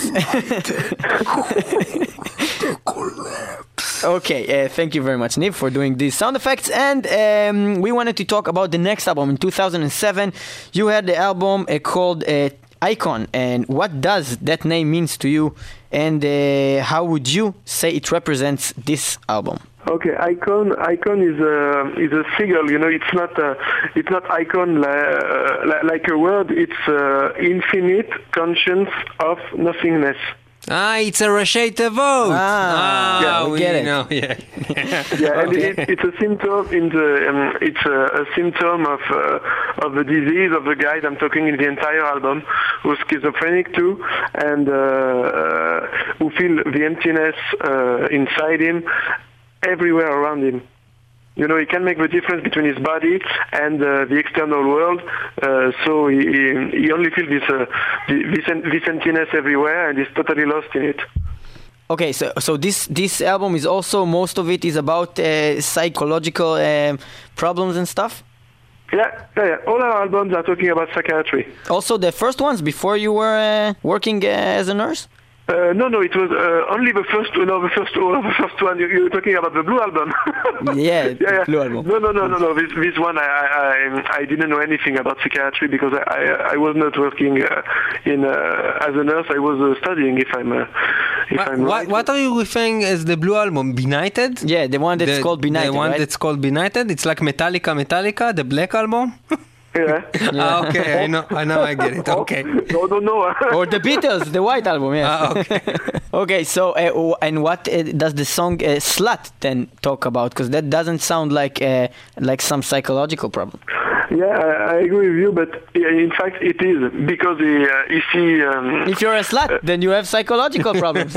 Speaker 3: Okay, uh, thank you very much, Niv, for doing these sound effects. And um, we wanted to talk about the next album. In two thousand seven, you had the album uh, called uh, Icon. And what does that name means to you? And uh, how would you say it represents this album?
Speaker 1: Okay, icon. Icon is a is a sigil. You know, it's not a, it's not icon li- uh, like a word. It's uh, infinite conscience of nothingness.
Speaker 4: Ah, it's a Rashi Tevot.
Speaker 3: Ah,
Speaker 4: ah
Speaker 3: yeah, we
Speaker 4: we
Speaker 3: get it.
Speaker 4: know. Yeah,
Speaker 1: Yeah, and
Speaker 3: Okay.
Speaker 1: it, it's a symptom in the um, it's a, a symptom of uh, of the disease of the guy I'm talking in the entire album, who's schizophrenic too, and uh, uh, who feel the emptiness uh, inside him, everywhere around him. You know, he can make the difference between his body and uh, the external world. Uh, so he, he, he only feels this, uh, this this emptiness everywhere, and he's totally lost in it.
Speaker 3: Okay, so so this this album is also, most of it is about uh, psychological um, problems and stuff.
Speaker 1: Yeah, yeah, yeah. All our albums are talking about psychiatry.
Speaker 3: Also, the first ones before you were uh, working uh, as a nurse.
Speaker 1: Uh, no, no, it was uh, only the first, no, the first, oh, the first one. You, you're talking about the Blue album.
Speaker 3: Yeah,
Speaker 1: yeah, yeah.
Speaker 3: Blue album.
Speaker 1: No, no, no, no, no. This, this one, I, I, I, I didn't know anything about psychiatry because I, I, I was not working uh, in uh, as a nurse. I was uh, studying. If I'm, uh, if
Speaker 4: What,
Speaker 1: I'm
Speaker 4: what,
Speaker 1: right.
Speaker 4: what are you referring as the Blue album? Benighted?
Speaker 3: Yeah, the one that's
Speaker 4: the,
Speaker 3: called Benighted,
Speaker 4: The one
Speaker 3: right?
Speaker 4: that's called Benighted. It's like Metallica, Metallica, the Black album.
Speaker 1: Yeah.
Speaker 4: Ah, okay, I know, I know, I get it. Okay.
Speaker 1: No, no, no.
Speaker 3: Or the Beatles, the White Album, yes.
Speaker 4: Ah, okay.
Speaker 3: Okay, so uh, w- and what uh, does the song uh, "Slut" then talk about? Because that doesn't sound like uh, like some psychological problem.
Speaker 1: Yeah, I, I agree with you, but uh, in fact, it is because he, uh, you see. Um,
Speaker 3: If you're a slut, then you have psychological problems.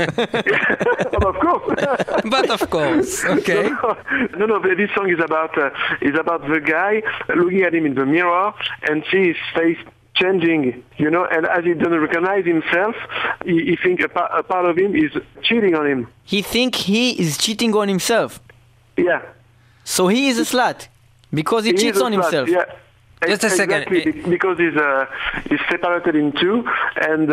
Speaker 1: of course.
Speaker 4: But of course, okay.
Speaker 1: No, no, no, this song is about uh, is about the guy looking at him in the mirror and see his face changing, you know, and as he doesn't recognize himself, he, he thinks a, pa- a part of him is cheating on him.
Speaker 3: He think he is cheating on himself,
Speaker 1: Yeah.
Speaker 3: so he is a slut because he,
Speaker 1: He
Speaker 3: cheats
Speaker 1: is a
Speaker 3: on
Speaker 1: slut,
Speaker 3: himself.
Speaker 1: Yeah.
Speaker 4: Just a second.
Speaker 1: Exactly, be- because he's uh, he's separated in two, and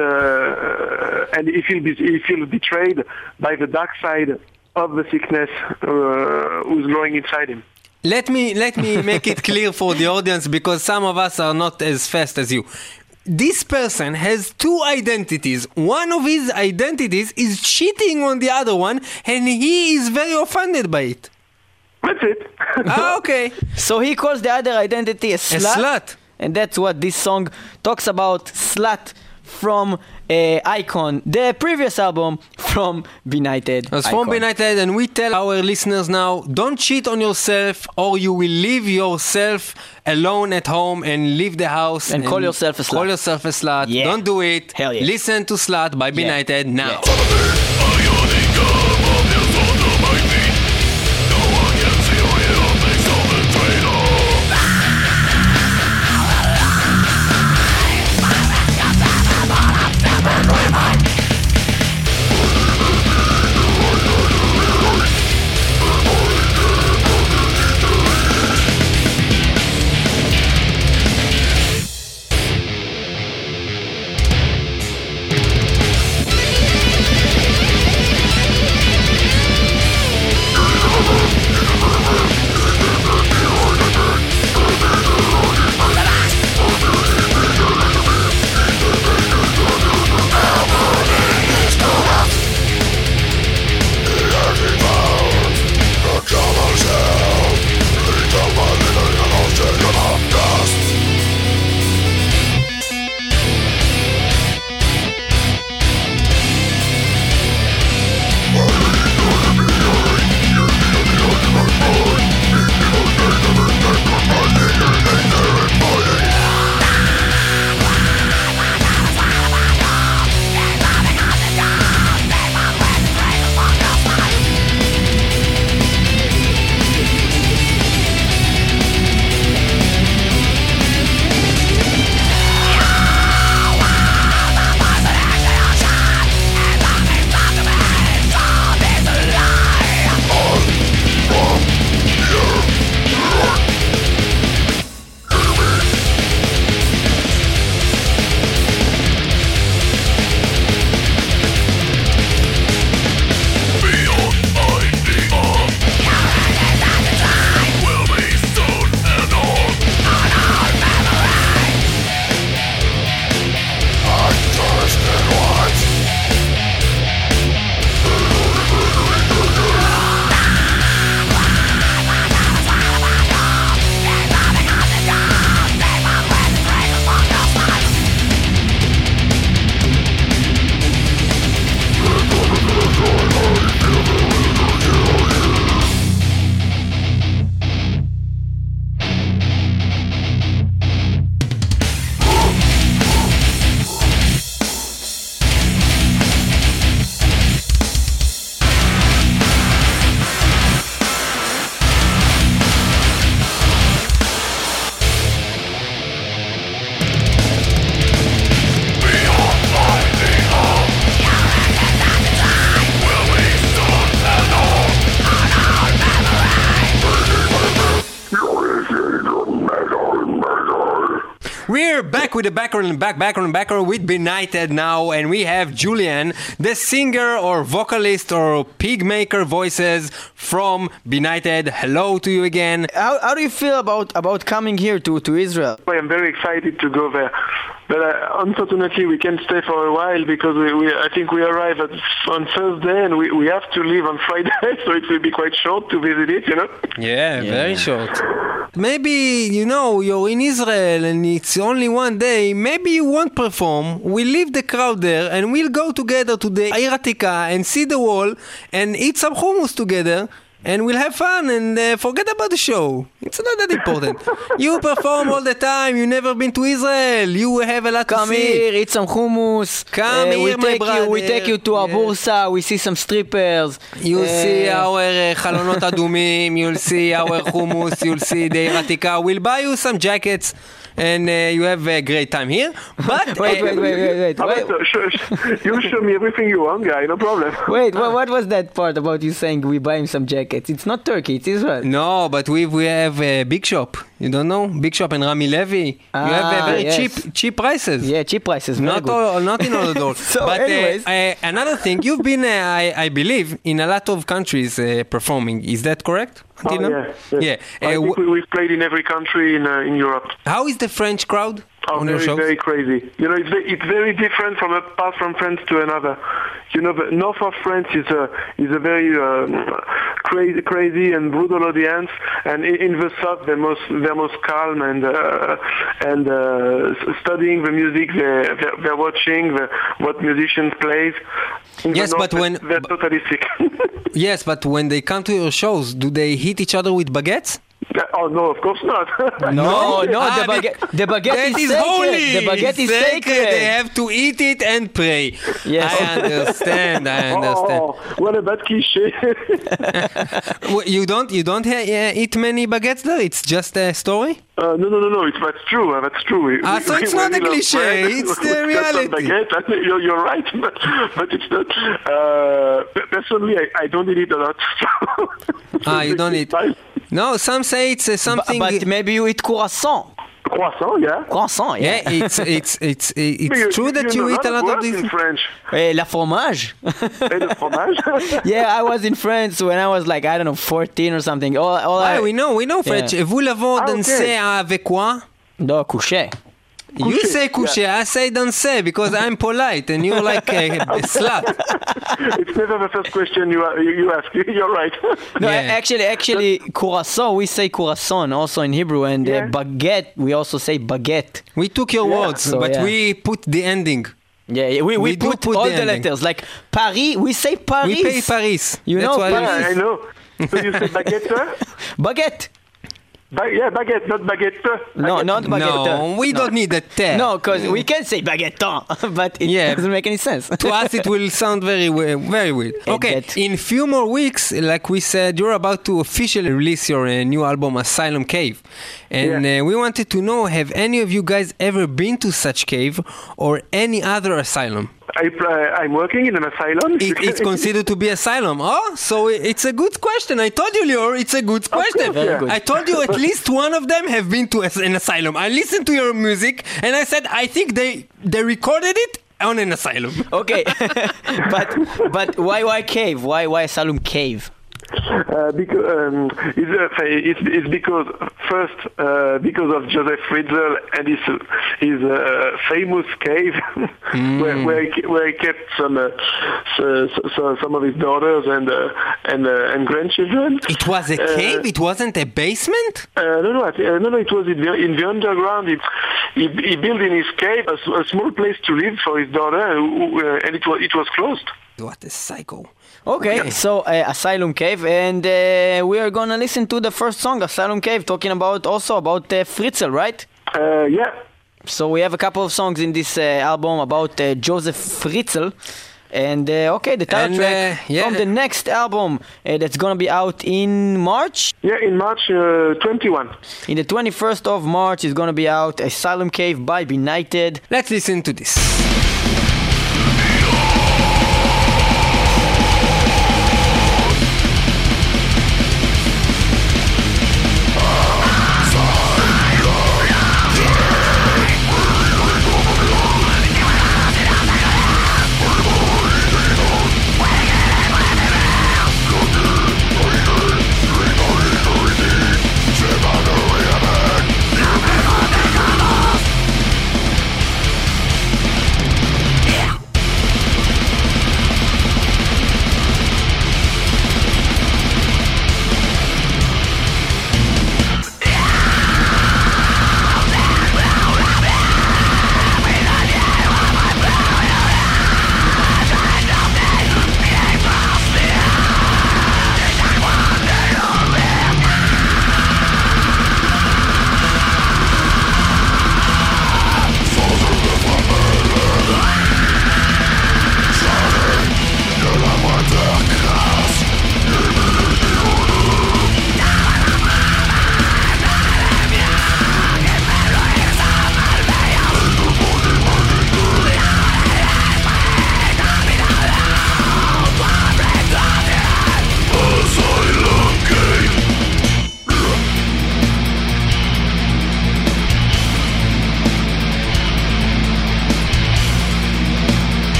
Speaker 1: uh, and he feels he feels betrayed by the dark side of the sickness uh, who's growing inside him.
Speaker 4: Let me let me make it clear for the audience because some of us are not as fast as you. This person has two identities. One of his identities is cheating on the other one, and he is very offended by it.
Speaker 1: That's it.
Speaker 4: Ah, okay.
Speaker 3: So he calls the other identity a
Speaker 4: A
Speaker 3: slut,
Speaker 4: slut.
Speaker 3: and that's what this song talks about. Slut from uh, Icon, the previous album from Benighted.
Speaker 4: As from
Speaker 3: Icon.
Speaker 4: Benighted, and we tell our listeners now, don't cheat on yourself or you will leave yourself alone at home and leave the house.
Speaker 3: And call yourself a slut.
Speaker 4: Call yourself a slut.
Speaker 3: Yeah.
Speaker 4: Don't do it.
Speaker 3: Hell yeah.
Speaker 4: Listen to Slut by Benighted now.
Speaker 3: Yeah.
Speaker 6: Thank
Speaker 4: We're back with the background and back, background and background with Benighted now, and we have Julian, the singer or vocalist or pig maker voices from Benighted. Hello to you again.
Speaker 3: How, how do you feel about, about coming here to, to Israel?
Speaker 1: I am very excited to go there. But uh, unfortunately, we can't stay for a while because we, we I think we arrive at, on Thursday and we, we have to leave on Friday, so it will be quite short to visit it, you know?
Speaker 4: Yeah, yeah, very short. Maybe, you know, you're in Israel and it's only one day. Maybe you won't perform. We'll leave the crowd there and we'll go together to the Eir Hatika and see the wall and eat some hummus together. And we'll have fun and uh, forget about the show. It's not that important. You perform all the time. You've never been to Israel. You have a lot
Speaker 3: Come
Speaker 4: to see.
Speaker 3: Come here, eat some hummus.
Speaker 4: Come
Speaker 3: uh,
Speaker 4: here,
Speaker 3: we
Speaker 4: my
Speaker 3: take
Speaker 4: brother.
Speaker 3: You, we take you to
Speaker 4: Yeah.
Speaker 3: a bursa. We see some strippers.
Speaker 4: You'll
Speaker 3: uh,
Speaker 4: see our uh, חלונות אדומים. You'll see our hummus. You'll see the Eir Hatika. We'll buy you some jackets. And uh, you have a great time here. But
Speaker 3: Wait,
Speaker 4: uh,
Speaker 3: wait, wait, wait, wait.
Speaker 1: How
Speaker 3: Wait,
Speaker 1: about, uh, sh- sh- you show me everything you want, guy, no problem.
Speaker 3: wait what, what was that part about you saying we buy him some jackets? It's not Turkey, it's Israel.
Speaker 4: No, but we we have a Big Shop. You don't know? Big Shop and Rami Levy.
Speaker 3: Ah,
Speaker 4: you have a very
Speaker 3: yes.
Speaker 4: cheap cheap prices.
Speaker 3: Yeah, cheap prices. Very
Speaker 4: Not
Speaker 3: good.
Speaker 4: all, not in all the doors.
Speaker 3: So
Speaker 4: but
Speaker 3: anyways.
Speaker 4: uh, uh, another thing, you've been, uh, I, I believe, in a lot of countries uh, performing. Is that correct?
Speaker 1: Oh,
Speaker 4: Until now?
Speaker 1: yeah. yes.
Speaker 4: Yeah.
Speaker 1: I
Speaker 4: Uh,
Speaker 1: think
Speaker 4: wh-
Speaker 1: we, we've played in every country in, uh, in Europe.
Speaker 4: how is the French crowd
Speaker 1: Oh,
Speaker 4: on your
Speaker 1: very,
Speaker 4: shows?
Speaker 1: very crazy. You know, it's very, it's very different from a path from France to another. You know, the north of France is a is a very um, crazy, crazy and brutal audience, and in, in the south they're most they're most calm and uh, and uh, studying the music they're, they're, they're watching the, what musicians plays. In the
Speaker 4: Yes,
Speaker 1: north,
Speaker 4: but when-
Speaker 1: they're totally sick.
Speaker 4: Yes, but when they come to your shows, do they hit each other with baguettes?
Speaker 1: Oh no, of course not.
Speaker 3: No, no,
Speaker 4: Ah,
Speaker 3: the baguette, the baguette
Speaker 4: That
Speaker 3: is
Speaker 4: is
Speaker 3: sacred.
Speaker 4: holy.
Speaker 3: The baguette is sacred.
Speaker 4: They have to eat it and pray.
Speaker 3: Yes.
Speaker 4: I understand. I understand.
Speaker 1: Oh, what a bad cliché.
Speaker 4: Well, You don't you don't ha- uh, eat many baguettes there? It's just a story?
Speaker 1: Uh, no, no, no, no. It's that's true. Uh, that's true. We,
Speaker 4: Ah,
Speaker 1: we-
Speaker 4: so it's
Speaker 1: we
Speaker 4: not a
Speaker 1: really love
Speaker 4: cliché,
Speaker 1: bread.
Speaker 4: it's
Speaker 1: We
Speaker 4: the
Speaker 1: cut some
Speaker 4: reality.
Speaker 1: baguette. I think You're, you're right, but, but it's not. Uh, pe- personally, I, I don't eat it a lot.
Speaker 4: Ah, you don't eat.
Speaker 1: Fine.
Speaker 4: No, some say it's uh,
Speaker 3: Bu-
Speaker 4: something.
Speaker 3: But maybe you eat croissant.
Speaker 1: Croissant, yeah.
Speaker 3: Croissant, yeah.
Speaker 4: yeah, it's it's it's it's
Speaker 1: You-
Speaker 4: true that you
Speaker 1: know
Speaker 4: eat a lot of
Speaker 1: words
Speaker 4: these.
Speaker 1: in French.
Speaker 3: Eh, la fromage.
Speaker 1: Et le fromage.
Speaker 3: Yeah, I was in France when I was like, I don't know, fourteen or something. All, all I...
Speaker 4: Ah, we know, we know French.
Speaker 3: Yeah.
Speaker 4: Vous l'avez
Speaker 1: Ah,
Speaker 4: dansé
Speaker 1: okay.
Speaker 4: avec quoi?
Speaker 3: No, couché.
Speaker 4: You
Speaker 1: Couché,
Speaker 4: say couché, I say dansé because I'm polite and you're like a, a slut.
Speaker 1: It's never the first question you, a- you, you ask. You're right.
Speaker 3: No,
Speaker 4: Yeah.
Speaker 3: actually, actually, croissant, we say croissant also in Hebrew, and
Speaker 1: Yeah.
Speaker 3: uh, baguette, we also say baguette.
Speaker 4: We took your
Speaker 1: Yeah.
Speaker 4: words,
Speaker 3: So,
Speaker 4: but
Speaker 3: yeah.
Speaker 4: we put the ending.
Speaker 3: Yeah, yeah, we, we,
Speaker 4: We do
Speaker 3: put,
Speaker 4: put
Speaker 3: all
Speaker 4: the
Speaker 3: the,
Speaker 4: ending.
Speaker 3: letters. Like Paris, we say Paris.
Speaker 4: We pay Paris.
Speaker 3: You
Speaker 4: That's
Speaker 3: know,
Speaker 4: why we-
Speaker 3: Paris.
Speaker 1: Yeah, I know. So you say baguette?
Speaker 3: Baguette.
Speaker 1: Ba- yeah, baguette, not baguette.
Speaker 3: No,
Speaker 1: Baguette.
Speaker 3: not baguette.
Speaker 4: No, we don't need a te.
Speaker 3: No, because we can say baguette, but it
Speaker 4: Yeah.
Speaker 3: doesn't make any sense.
Speaker 4: To us it will sound very we- very weird. Okay,
Speaker 3: Baguette.
Speaker 4: in few more weeks, like we said, you're about to officially release your uh, new album Asylum Cave. And
Speaker 1: Yeah.
Speaker 4: uh, we wanted to know, have any of you guys ever been to such cave or any other asylum?
Speaker 1: I, uh, I'm working in an asylum.
Speaker 4: It, it's considered to be asylum. Oh, so i- it's a good question. I told you, Lior, it's a good question.
Speaker 1: course, Very
Speaker 3: good.
Speaker 4: I told you at least one of them have been to as- an asylum. I listened to your music and I said, I think they they recorded it on an asylum.
Speaker 3: Okay, but but why why cave? Why why asylum cave?
Speaker 1: Uh, because um, it's, uh, it's, it's because first uh, because of Joseph Fritzl and his his uh, famous cave
Speaker 4: Mm.
Speaker 1: where where he, ke- where he kept some uh, so, so, some of his daughters and uh, and uh, and grandchildren.
Speaker 4: It was a
Speaker 1: Uh,
Speaker 4: cave? It wasn't a basement?
Speaker 1: Uh, no, no, I thi- uh, no, no. It was in the, in the underground. It, he, he built in his cave a, s- a small place to live for his daughter, uh, who- uh, and it was it was closed.
Speaker 4: What a psycho.
Speaker 3: Okay, so uh, Asylum Cave, and uh, we are gonna listen to the first song, Asylum Cave, talking about also about uh, Fritzl, right?
Speaker 1: Uh, yeah.
Speaker 3: So we have a couple of songs in this uh, album about uh, Joseph Fritzl. And uh, okay, the title
Speaker 4: And,
Speaker 3: track
Speaker 4: uh, yeah.
Speaker 3: from the next album uh, that's gonna be out in March.
Speaker 1: Yeah, in March uh, twenty-one.
Speaker 3: In the twenty-first of March is gonna be out Asylum Cave by Benighted.
Speaker 4: Let's listen to this.
Speaker 6: Asylum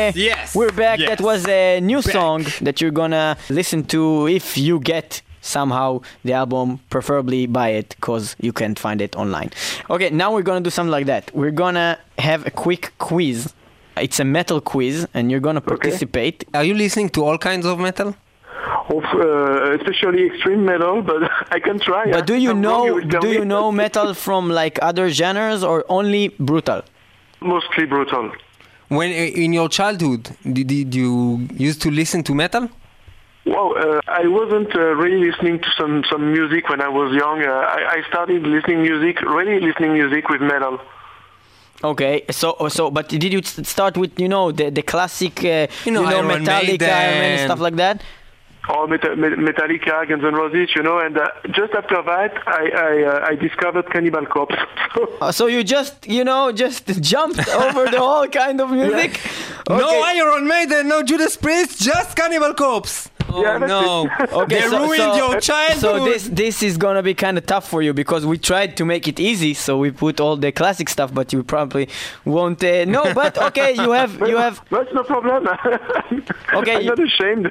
Speaker 5: yes,
Speaker 3: we're back.
Speaker 5: yes.
Speaker 3: That was a new
Speaker 5: Back.
Speaker 3: song that you're gonna listen to if you get somehow the album, preferably buy it because you can't find it online. Okay, now we're gonna do something like that. We're gonna have a quick quiz. It's a metal quiz, and you're gonna participate.
Speaker 4: Are you listening to all kinds of metal?
Speaker 1: Of, uh, especially extreme metal, but I can try.
Speaker 3: But do you
Speaker 1: I'm wrong,
Speaker 3: know
Speaker 1: will tell
Speaker 3: do
Speaker 1: me.
Speaker 3: you know metal from like other genres or only brutal?
Speaker 1: Mostly brutal.
Speaker 4: When uh, in your childhood, did, did you used to listen to metal?
Speaker 1: Well, uh, I wasn't uh, really listening to some, some music when I was young. Uh, I, I started listening music, really listening music with metal.
Speaker 3: Okay, so so but did you s- start with you know the the classic uh,
Speaker 4: You know, Iron
Speaker 3: Metallica Iron Man,
Speaker 4: Maiden.
Speaker 3: stuff like that?
Speaker 1: Or Meta- Me- Metallica, Guns N' Roses, you know, and uh, just after that, I I, uh, I discovered Cannibal Corpse.
Speaker 3: Uh, so you just you know just jumped over the whole kind of music?
Speaker 4: No
Speaker 3: Okay.
Speaker 4: Iron Maiden, no Judas Priest, just Cannibal Corpse. Oh
Speaker 1: Yeah, that's
Speaker 4: no!
Speaker 3: Okay,
Speaker 4: They
Speaker 3: so,
Speaker 4: ruined
Speaker 3: so,
Speaker 4: your childhood.
Speaker 3: So this this is gonna be kind of tough for you because we tried to make it easy, so we put all the classic stuff, but you probably won't uh, know. But okay, you have you have
Speaker 1: That's no problem.
Speaker 3: Okay,
Speaker 1: I'm
Speaker 3: you-
Speaker 1: not ashamed.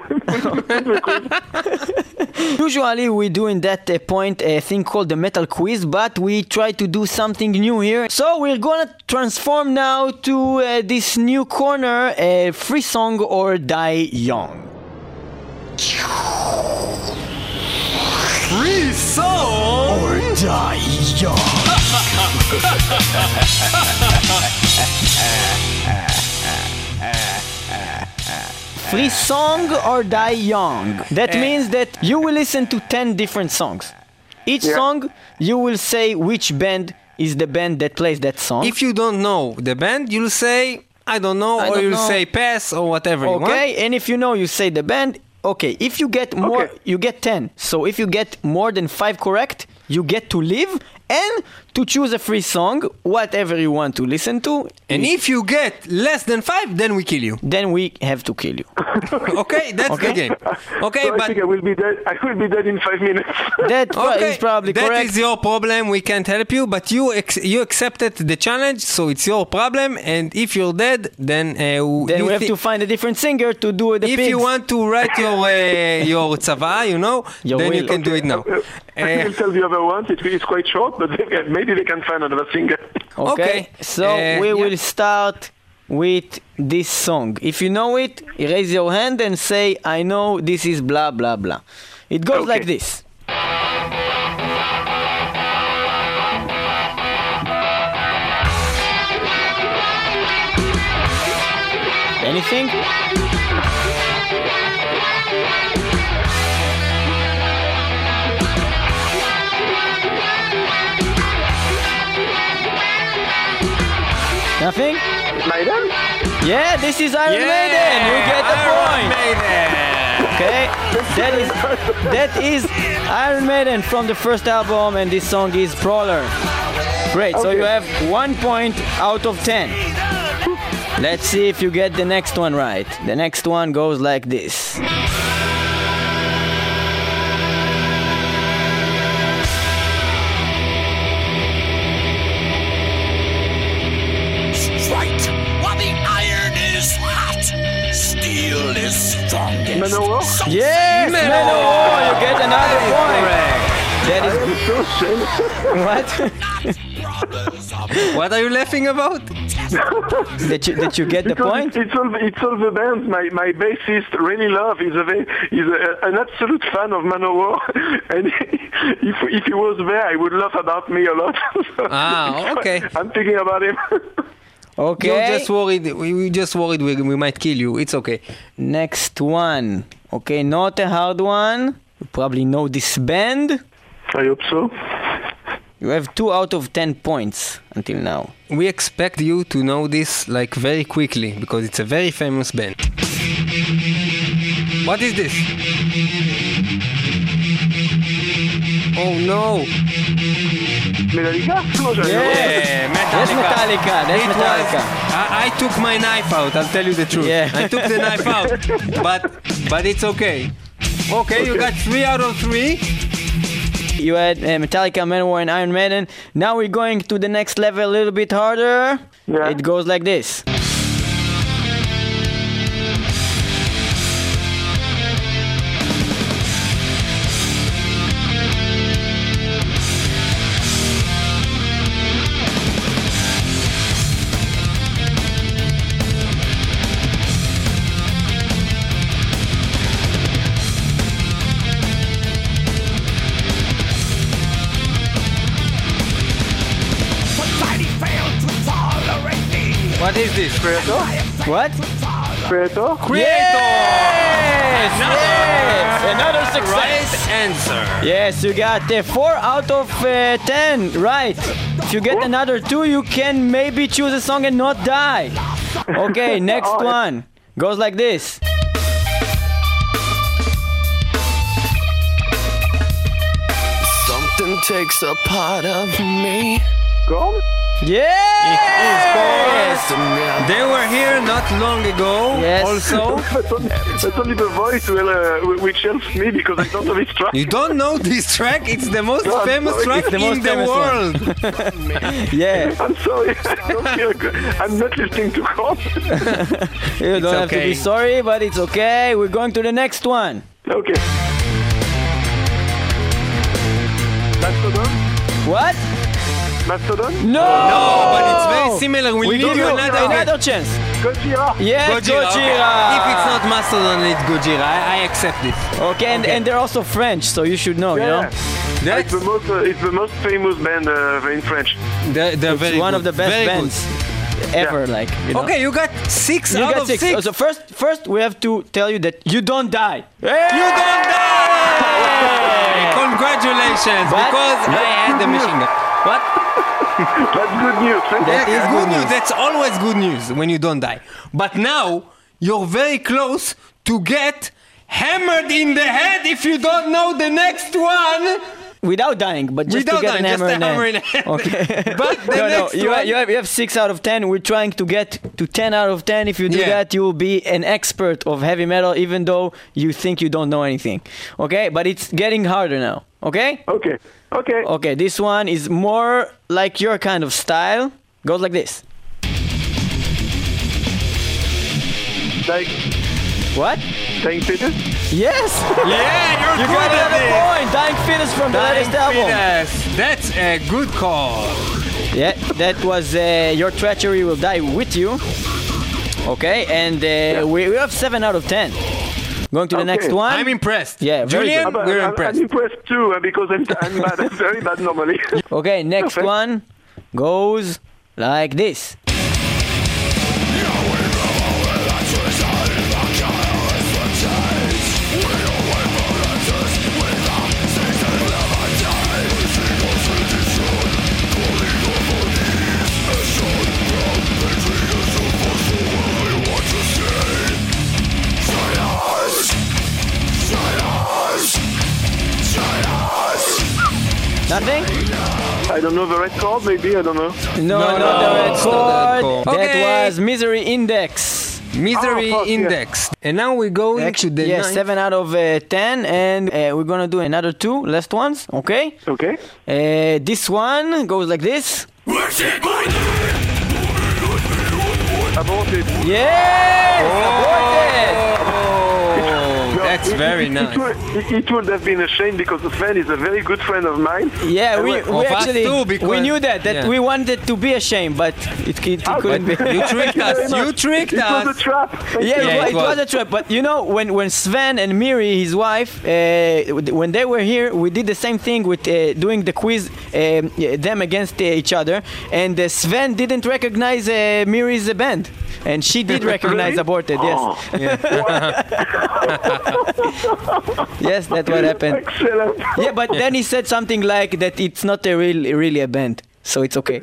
Speaker 3: Usually we do in that uh, point a thing called the metal quiz, but we try to do something new here. So we're gonna transform now to uh, this new corner, uh, free song or die young.
Speaker 5: Free song.
Speaker 3: Or die young. Free song or die young. That means that you will listen to ten different songs. Each
Speaker 1: Yeah.
Speaker 3: song you will say which band is the band that plays that song.
Speaker 4: If you don't know the band, you'll say I don't know,
Speaker 3: I
Speaker 4: or
Speaker 3: don't
Speaker 4: you'll
Speaker 3: know.
Speaker 4: say pass or whatever you want.
Speaker 3: Okay, and if you know, you say the band. Okay, if you get more,
Speaker 1: Okay.
Speaker 3: you get ten. So if you get more than five correct, you get to leave and to choose a free song, whatever you want to listen to.
Speaker 4: And if you get less than five, then we kill you.
Speaker 3: Then we have to kill you.
Speaker 4: Okay, that's
Speaker 3: Okay.
Speaker 4: the game. Okay,
Speaker 1: So I
Speaker 4: but
Speaker 1: think I will be dead. I will be dead in five minutes.
Speaker 3: That pro-
Speaker 4: okay,
Speaker 3: is probably
Speaker 4: that
Speaker 3: correct.
Speaker 4: is your problem. We can't help you, but you ex- you accepted the challenge, so it's your problem. And if you're dead, then uh, w-
Speaker 3: then
Speaker 4: you
Speaker 3: we have
Speaker 4: thi-
Speaker 3: to find a different singer to do the
Speaker 4: If
Speaker 3: pigs.
Speaker 4: you want to write your uh, your tzava, you know,
Speaker 3: Your
Speaker 4: then you
Speaker 3: will.
Speaker 4: can do it now.
Speaker 1: I
Speaker 4: Uh,
Speaker 1: will tell the other ones. It is quite short, but they can, maybe they can find another singer.
Speaker 3: Okay,
Speaker 4: Okay.
Speaker 3: so
Speaker 4: Uh,
Speaker 3: we
Speaker 4: yeah.
Speaker 3: will start with this song. If you know it, raise your hand and say, I know this is blah blah blah. It goes
Speaker 1: Okay.
Speaker 3: like this. Anything? Nothing?
Speaker 1: Maiden?
Speaker 3: Yeah, this is Iron Maiden. You get the
Speaker 4: Iron
Speaker 3: point.
Speaker 4: Maiden.
Speaker 3: Okay, that is that is Iron Maiden from the first album, and this song is Brawler. Great. So
Speaker 1: Okay.
Speaker 3: you have one point out of ten. Let's see if you get the next one right. The next one goes like this.
Speaker 5: Right. While the iron is hot, steel is strongest.
Speaker 1: Manowar?
Speaker 3: Yes, Manowar. You get another point. That is
Speaker 1: So ashamed.
Speaker 3: what?
Speaker 4: What are you laughing about?
Speaker 3: that you that you get the
Speaker 1: Because
Speaker 3: point?
Speaker 1: It's all, it's all the bands my, my bassist really love. He's, a, very- he's a, an absolute fan of Manowar. And if, if he was there, I would laugh about me a lot. So
Speaker 4: Ah, okay.
Speaker 1: I'm thinking about him.
Speaker 3: Okay.
Speaker 4: You're just worried. We, we just worried we, we might kill you. It's okay.
Speaker 3: Next one. Okay, not a hard one. You probably know this band.
Speaker 1: I hope so.
Speaker 3: You have two out of ten points until now.
Speaker 4: We expect you to know this like very quickly because it's a very famous band. What is this? Oh no!
Speaker 1: Metallica? No, I
Speaker 3: Yeah.
Speaker 4: Yeah,
Speaker 3: That's Metallica. That's
Speaker 4: It was-
Speaker 3: Metallica.
Speaker 4: I, I took my knife out. I'll tell you the truth.
Speaker 3: Yeah.
Speaker 4: I took the knife out, but but it's okay. Okay, you got three out of three.
Speaker 3: You had uh, Metallica, Manowar, and Iron Maiden. Now we're going to the next level a little bit harder.
Speaker 1: Yeah.
Speaker 3: It goes like this.
Speaker 4: What is this?
Speaker 1: Creator?
Speaker 3: What?
Speaker 1: Creator?
Speaker 4: Creator!
Speaker 3: Yes!
Speaker 4: Another,
Speaker 3: Yes! Another success!
Speaker 4: right answer.
Speaker 3: Yes, you got uh, four out of uh, ten, right. If you get another two, you can maybe choose a song and not die. Okay, next
Speaker 1: Oh,
Speaker 3: one. Goes like this.
Speaker 5: Something takes a part of me.
Speaker 1: Gone?
Speaker 3: Yes!
Speaker 4: They were here not long ago.
Speaker 3: Yes.
Speaker 4: Also,
Speaker 1: That's only, that's only the voice will, uh, which helps me because I don't know this track.
Speaker 4: you don't know this track? It's the most
Speaker 1: No, I'm
Speaker 4: famous
Speaker 1: sorry.
Speaker 4: track
Speaker 1: It's
Speaker 3: the
Speaker 4: in
Speaker 3: most
Speaker 4: the
Speaker 3: famous one.
Speaker 4: world.
Speaker 3: Yeah,
Speaker 1: I'm sorry. I don't feel good. I'm not listening to Gone.
Speaker 3: you don't have to
Speaker 4: okay.
Speaker 3: be sorry, but it's okay. We're going to the next one.
Speaker 1: Okay. Mastodon?
Speaker 3: What?
Speaker 1: Mastodon?
Speaker 3: No!
Speaker 4: No, but it's very similar. We'll
Speaker 3: We
Speaker 4: give
Speaker 3: give
Speaker 4: you
Speaker 3: you
Speaker 4: another,
Speaker 3: another chance.
Speaker 1: Gojira?
Speaker 3: Yes,
Speaker 4: Gojira.
Speaker 3: Gojira.
Speaker 4: Okay. If it's not Mastodon, it's Gojira. I, I accept it.
Speaker 3: Okay, and, and they're also French, so you should know, you know?
Speaker 1: It's
Speaker 4: That's
Speaker 1: the most. Uh, it's the most famous band uh, in French.
Speaker 4: they're, they're very
Speaker 3: It's one
Speaker 4: good.
Speaker 3: of the best
Speaker 4: Very
Speaker 3: bands ever, like, you know?
Speaker 4: Good. Okay, you got six
Speaker 3: You
Speaker 4: out
Speaker 3: got
Speaker 4: of
Speaker 3: six.
Speaker 4: six.
Speaker 3: Oh, so first, first we have to tell you that you don't die.
Speaker 4: You don't die! Congratulations,
Speaker 3: But-
Speaker 4: because I had the machine gun. What?
Speaker 1: That's good news. Thank
Speaker 3: That
Speaker 1: you.
Speaker 3: is
Speaker 4: It's
Speaker 3: good
Speaker 4: good news.
Speaker 3: news.
Speaker 4: That's always good news when you don't die. But now you're very close to get hammered in the head if you don't know the next one.
Speaker 3: Without dying, but just
Speaker 4: Without
Speaker 3: to get
Speaker 4: dying,
Speaker 3: an
Speaker 4: just
Speaker 3: hammer,
Speaker 4: a hammer
Speaker 3: in
Speaker 4: in
Speaker 3: the
Speaker 4: the head.
Speaker 3: Okay.
Speaker 4: But the
Speaker 3: no, no,
Speaker 4: next
Speaker 3: you,
Speaker 4: one-
Speaker 3: have, you, have, you have six out of ten. We're trying to get to ten out of ten. If you do
Speaker 4: Yeah.
Speaker 3: that, you will be an expert of heavy metal, even though you think you don't know anything. Okay, but it's getting harder now. Okay.
Speaker 1: Okay. Okay.
Speaker 3: Okay, this one is more like your kind of style. Goes like this.
Speaker 1: Like
Speaker 3: What?
Speaker 1: Dying Fetus?
Speaker 3: Yes.
Speaker 4: Yeah, you're
Speaker 3: You got
Speaker 4: good at
Speaker 3: another
Speaker 4: it.
Speaker 3: point. Dying Fetus from the
Speaker 4: Dying
Speaker 3: latest album.
Speaker 4: Fetus. That's a good call.
Speaker 3: Yeah, that was uh, Your Treachery Will Die With You. Okay, and uh, we, we have seven out of ten. Going to the
Speaker 1: Okay.
Speaker 3: next one.
Speaker 4: I'm impressed.
Speaker 3: Yeah, very
Speaker 4: Julian,
Speaker 3: good.
Speaker 1: But
Speaker 4: we're
Speaker 1: I'm,
Speaker 4: impressed.
Speaker 1: I'm impressed too uh, because I'm, I'm bad. I'm very bad normally.
Speaker 3: Okay, next
Speaker 1: Perfect.
Speaker 3: one goes like this. Nothing?
Speaker 1: I don't know the red chord. Maybe I don't know.
Speaker 3: No,
Speaker 4: No,
Speaker 3: not
Speaker 4: no,
Speaker 3: the red
Speaker 4: it's not the red
Speaker 3: chord.
Speaker 4: chord.
Speaker 3: That
Speaker 4: Okay.
Speaker 3: was Misery Index.
Speaker 4: Misery
Speaker 1: Oh, fuck, yeah.
Speaker 4: Index. And now we go into
Speaker 3: Actually,
Speaker 4: the
Speaker 3: yeah,
Speaker 4: ninth.
Speaker 3: seven out of uh, ten, and uh, we're gonna do another two last ones. Okay.
Speaker 1: Okay.
Speaker 3: Uh, this one goes like this.
Speaker 1: Aborted.
Speaker 3: Yes! Aborted!
Speaker 4: Oh, that's
Speaker 1: it,
Speaker 4: very
Speaker 1: it,
Speaker 4: nice.
Speaker 1: It would, it, it would have been a shame because Sven is a very good friend of mine.
Speaker 3: Yeah, we,
Speaker 1: Of
Speaker 3: we
Speaker 4: us
Speaker 3: actually
Speaker 4: too, because-
Speaker 3: we knew that that
Speaker 4: yeah.
Speaker 3: we wanted to be ashamed, but it, it, it couldn't be.
Speaker 4: You tricked us. You tricked
Speaker 1: It was a
Speaker 4: us.
Speaker 1: trap. Thank
Speaker 3: Yeah,
Speaker 1: you.
Speaker 3: it,
Speaker 4: Yeah,
Speaker 3: wa-
Speaker 4: it
Speaker 3: it was
Speaker 4: was.
Speaker 3: a trap. But you know, when, when Sven and Miri, his wife, uh, when they were here, we did the same thing with uh, doing the quiz, um, yeah, them against uh, each other. And uh, Sven didn't recognize uh, Miri's uh, band. And she did recognize
Speaker 1: Really?
Speaker 3: Aborted, yes.
Speaker 1: Oh,
Speaker 3: Yes, that's what happened.
Speaker 1: excellent.
Speaker 3: Yeah, but then he said something like that it's not a real, really a band. So it's okay.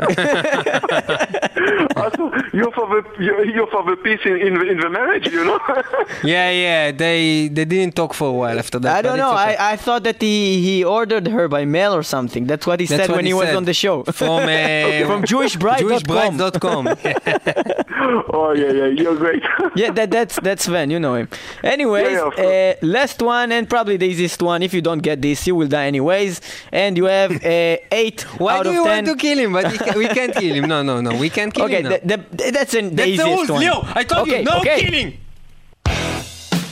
Speaker 1: Also, you're for the you're, you're for the peace in, in, the, in the marriage, you know.
Speaker 4: Yeah, yeah. They they didn't talk for a while after that.
Speaker 3: I don't
Speaker 4: but
Speaker 3: know.
Speaker 4: it's okay.
Speaker 3: I, I thought that he, he ordered her by mail or something. That's what he
Speaker 4: That's
Speaker 3: said
Speaker 4: what
Speaker 3: when
Speaker 4: he
Speaker 3: he, was
Speaker 4: said.
Speaker 3: on the show.
Speaker 4: From uh,
Speaker 3: From Jewish Bride
Speaker 4: Jewish
Speaker 3: dot com.
Speaker 4: Brides dot com.
Speaker 1: Oh yeah, yeah, you're great.
Speaker 3: Yeah, that, that's that's Sven, you know him. Anyways,
Speaker 1: Yeah, yeah, of
Speaker 3: uh, last one and probably the easiest one. If you don't get this, you will die anyways. And you have uh, eight
Speaker 4: Why
Speaker 3: out
Speaker 4: do
Speaker 3: of
Speaker 4: you
Speaker 3: ten.
Speaker 4: want to kill him? But he ca- we can't kill him. No, no, no. We can't kill
Speaker 3: Okay,
Speaker 4: him. now.
Speaker 3: the, the, that's an, the
Speaker 4: That's the
Speaker 3: easiest
Speaker 4: rules,
Speaker 3: one.
Speaker 4: Leo. I told
Speaker 3: Okay,
Speaker 4: you, no
Speaker 3: okay.
Speaker 4: killing.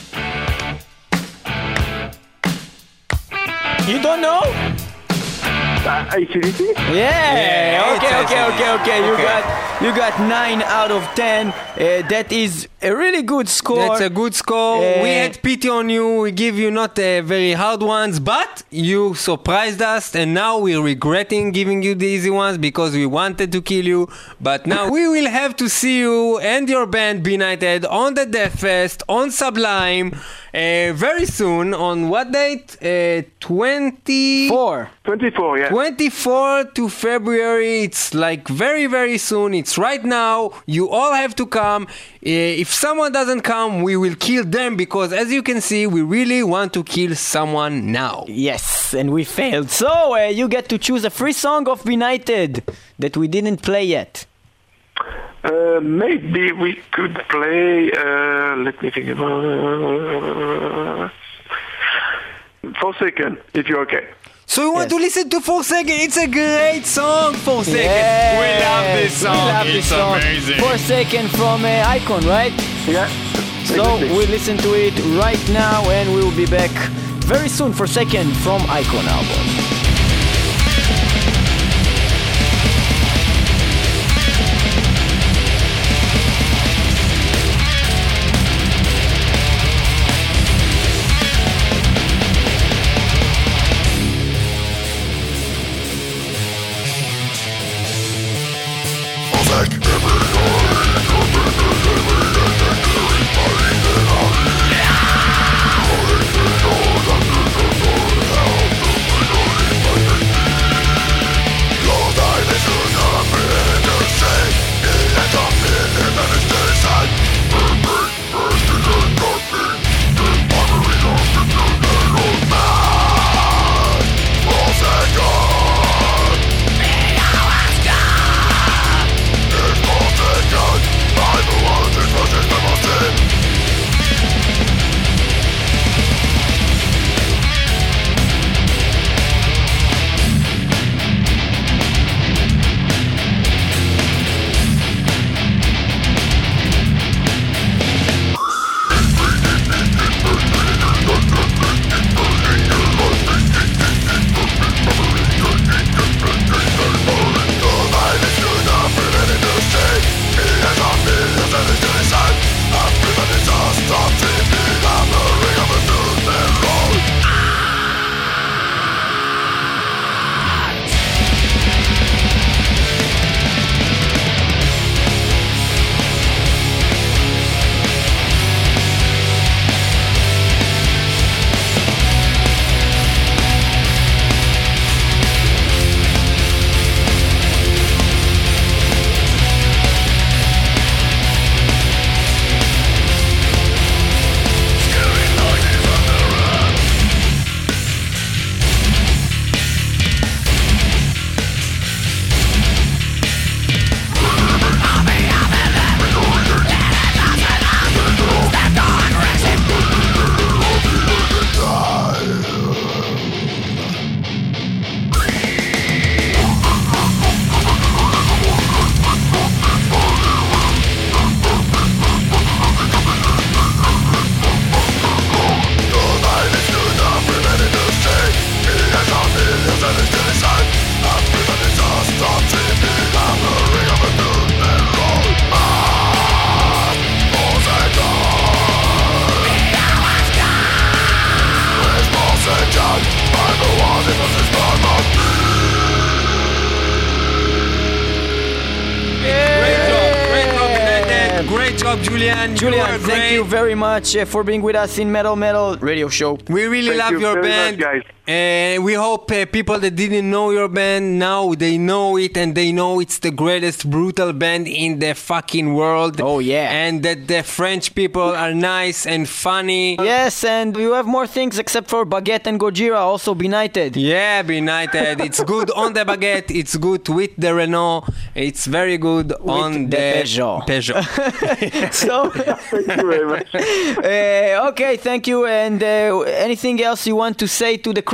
Speaker 3: You don't know?
Speaker 1: Uh, A C D C?
Speaker 3: Yeah.
Speaker 4: Yeah,
Speaker 3: Okay,
Speaker 4: it's
Speaker 3: okay,
Speaker 4: A C D C.
Speaker 3: okay, okay. You
Speaker 4: Okay.
Speaker 3: got you got nine out of ten. Uh, that is a really good score.
Speaker 4: That's a good score.
Speaker 3: Uh,
Speaker 4: we had pity on you. We give you not uh, very hard ones, but you surprised us, and now we're regretting giving you the easy ones because we wanted to kill you. But now we will have to see you and your band Be United on the Death Fest on Sublime uh, very soon. On what date? Uh, twenty
Speaker 3: Four.
Speaker 1: twenty-four, yeah.
Speaker 4: twenty-fourth to February. It's like very very soon. It's right now. You all have to come. Uh, if someone doesn't come, we will kill them because as you can see, we really want to kill someone now.
Speaker 3: Yes, and we failed. So uh, you get to choose a free song of Be United that we didn't play yet.
Speaker 1: Uh, maybe we could play, uh, let me think about uh, Forsaken, if you're okay.
Speaker 4: So you want
Speaker 3: Yes.
Speaker 4: to listen to Forsaken? It's a great song, Forsaken.
Speaker 3: Yeah.
Speaker 4: We love this song.
Speaker 3: We love this
Speaker 4: It's
Speaker 3: song.
Speaker 4: amazing.
Speaker 3: Forsaken from uh, Icon, right?
Speaker 1: Yeah.
Speaker 3: So
Speaker 1: exactly.
Speaker 3: we listen to it right now, and we will be back very soon for Forsaken from Icon album.
Speaker 4: job, Julian.
Speaker 3: Julian,
Speaker 4: you are
Speaker 3: thank
Speaker 4: great.
Speaker 3: you very much uh, for being with us in Metal Metal Radio Show.
Speaker 4: We really
Speaker 1: Thank
Speaker 4: love
Speaker 1: you
Speaker 4: your
Speaker 1: very
Speaker 4: band,
Speaker 1: much, guys.
Speaker 4: and we hope uh, people that didn't know your band now they know it, and they know it's the greatest brutal band in the fucking world.
Speaker 3: Oh, yeah.
Speaker 4: And that the French people are nice and funny.
Speaker 3: Yes, and you have more things except for Baguette and Gojira, also Be United.
Speaker 4: Yeah, Be United. It's good on the Baguette. It's good with the Renault. It's very good on
Speaker 3: the
Speaker 4: the
Speaker 3: Peugeot.
Speaker 4: Peugeot.
Speaker 3: So,
Speaker 1: Thank you very much.
Speaker 3: uh, okay, thank you. And uh, anything else you want to say to the crowd?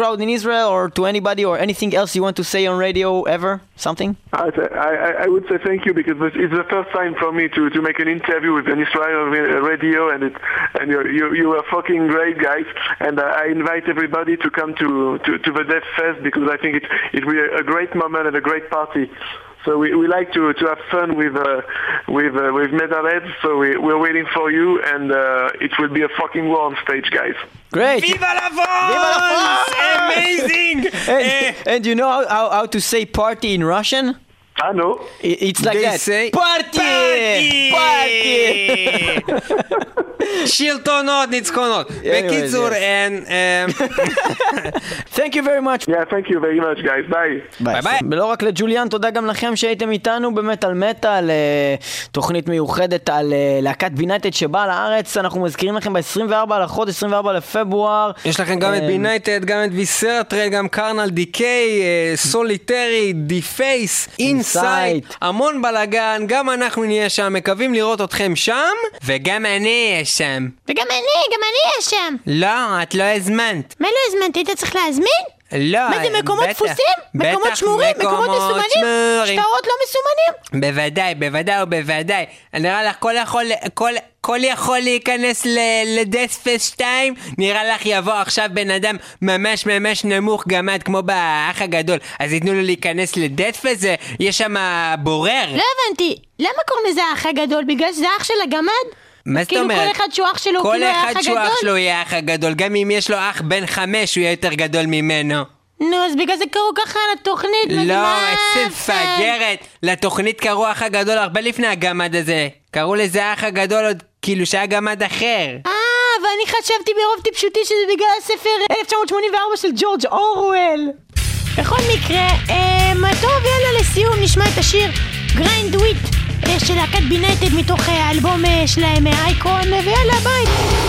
Speaker 3: SoundCloud in Israel or to anybody or anything else you want to say on radio ever? Something?
Speaker 1: I, I, I would say thank you because it's the first time for me to, to make an interview with an Israel radio, and it, and you you you are fucking great guys, and uh, I invite everybody to come to, to, to the Death Fest because I think it it will be a great moment and a great party. So we, we like to, to have fun with uh, with uh, with metalheads. So we we're waiting for you, and uh, it will be a fucking war on stage, guys.
Speaker 3: Great.
Speaker 4: Viva la France!
Speaker 3: Viva la France!
Speaker 4: Amazing!
Speaker 3: and, and you know how, how how to say party in Russian?
Speaker 1: I know.
Speaker 3: It, it's like
Speaker 4: They
Speaker 3: that.
Speaker 4: say
Speaker 3: Party!
Speaker 4: party!
Speaker 3: Party!
Speaker 4: שלטונות ניצחונות. בקיצור,
Speaker 3: Thank you very much.
Speaker 1: Yeah, thank you very much, guys. Bye.
Speaker 3: ביי ביי. ולא רק לג'וליאן, תודה גם לכם שהייתם איתנו במטל מטל, תוכנית מיוחדת על להקת בינייטד שבאה לארץ. אנחנו מזכירים לכם ב-עשרים וארבעה לחודש, עשרים וארבעה לפברואר.
Speaker 4: יש לכם גם את בינייטד, גם את ויסרטרל, גם קרנל דיקיי, סוליטרי, די פייס, אינסייט, המון בלגן. גם אנחנו נהיה שם, מקווים לראות אתכם שם, וגם אני אהיה שם.
Speaker 2: וגם אני, גם אני אהיה שם.
Speaker 4: לא, את לא הזמנת.
Speaker 2: מה לא הזמנתי? היית צריך להזמין?
Speaker 4: לא,
Speaker 2: מה זה, מקומות
Speaker 4: בטח,
Speaker 2: דפוסים? מקומות
Speaker 4: בטח,
Speaker 2: שמורים? מקומות מסומנים?
Speaker 4: שמורים.
Speaker 2: שטרות לא מסומנים?
Speaker 4: בוודאי, בוודאי ובוודאי. נראה לך כל יכול, כל, כל יכול להיכנס לדספס שתיים, נראה לך יבוא עכשיו בן אדם ממש ממש נמוך גמד כמו באח הגדול, אז ייתנו לו להיכנס לדספס, יש שם בורר.
Speaker 2: לא הבנתי, למה קוראים לזה האח הגדול? בגלל שזה אח של הגמד?
Speaker 4: מה זאת
Speaker 2: כאילו
Speaker 4: אומרת?
Speaker 2: כל אחד שהוא אח שלו,
Speaker 4: כל
Speaker 2: כאילו האח
Speaker 4: אחד שהוא
Speaker 2: הגדול?
Speaker 4: אח שלו יהיה האח הגדול, גם אם יש לו אח בן חמש הוא יהיה יותר גדול ממנו.
Speaker 2: נו, אז בגלל זה קראו ככה לתוכנית.
Speaker 4: לא,
Speaker 2: מה
Speaker 4: איזה
Speaker 2: זה?
Speaker 4: מפגרת. לתוכנית קראו האח הגדול הרבה לפני הגמד הזה. קראו לזה האח הגדול עוד כאילו שהיה גמד אחר.
Speaker 2: אה, ואני חשבתי ברוב טיפשותי שזה בגלל הספר אלף תשע מאות שמונים וארבע של ג'ורג' אורוול. בכל מקרה, אה, טוב, יאללה, לסיום נשמע את השיר גריינד וויט של להקת בינייטד מתוך האלבום שלהם אייקון, ויאללה, ביי.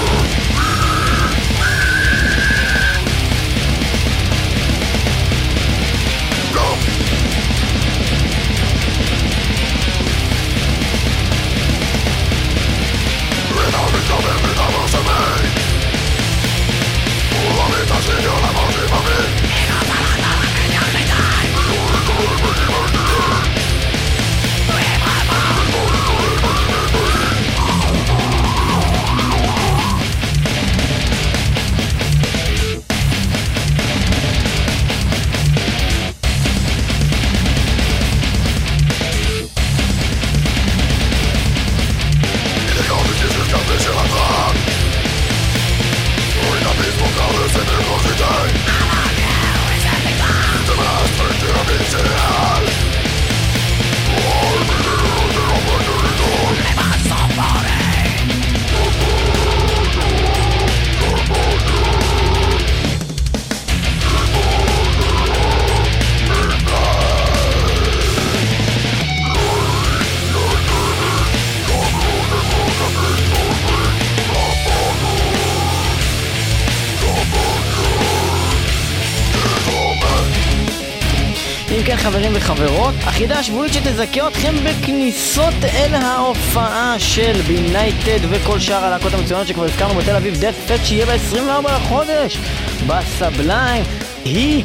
Speaker 2: חברים וחברות, החידה השבועית שתזכה אתכם בכניסות אל ההופעה של בינייטד וכל שאר הלהקות המצוינות שכבר הזכרנו בתל אביב דאט פסט שיהיה ב-עשרים וארבעה לחודש בסבליים, היא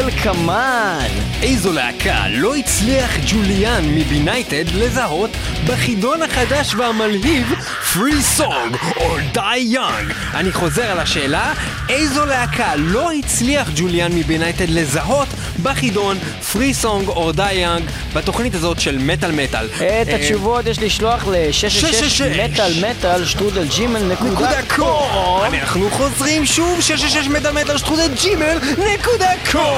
Speaker 2: כדלקמן.
Speaker 4: איזו להקה לא הצליח ג'וליאן מבינייטד לזהות בחידון החדש והמלהיב Free Song or Die Young? אני חוזר על השאלה, איזו להקה לא הצליח ג'וליאן מבינייטד לזהות בחידון Free Song or Die Young בתוכנית הזאת של מטל מטל?
Speaker 3: את התשובות יש לשלוח ל-שש שש שש מטל מטל שטרודל ג'ימל נקודה קום.
Speaker 4: אנחנו חוזרים שוב, שש שש שש מטל מטל שטרודל ג'ימל נקודה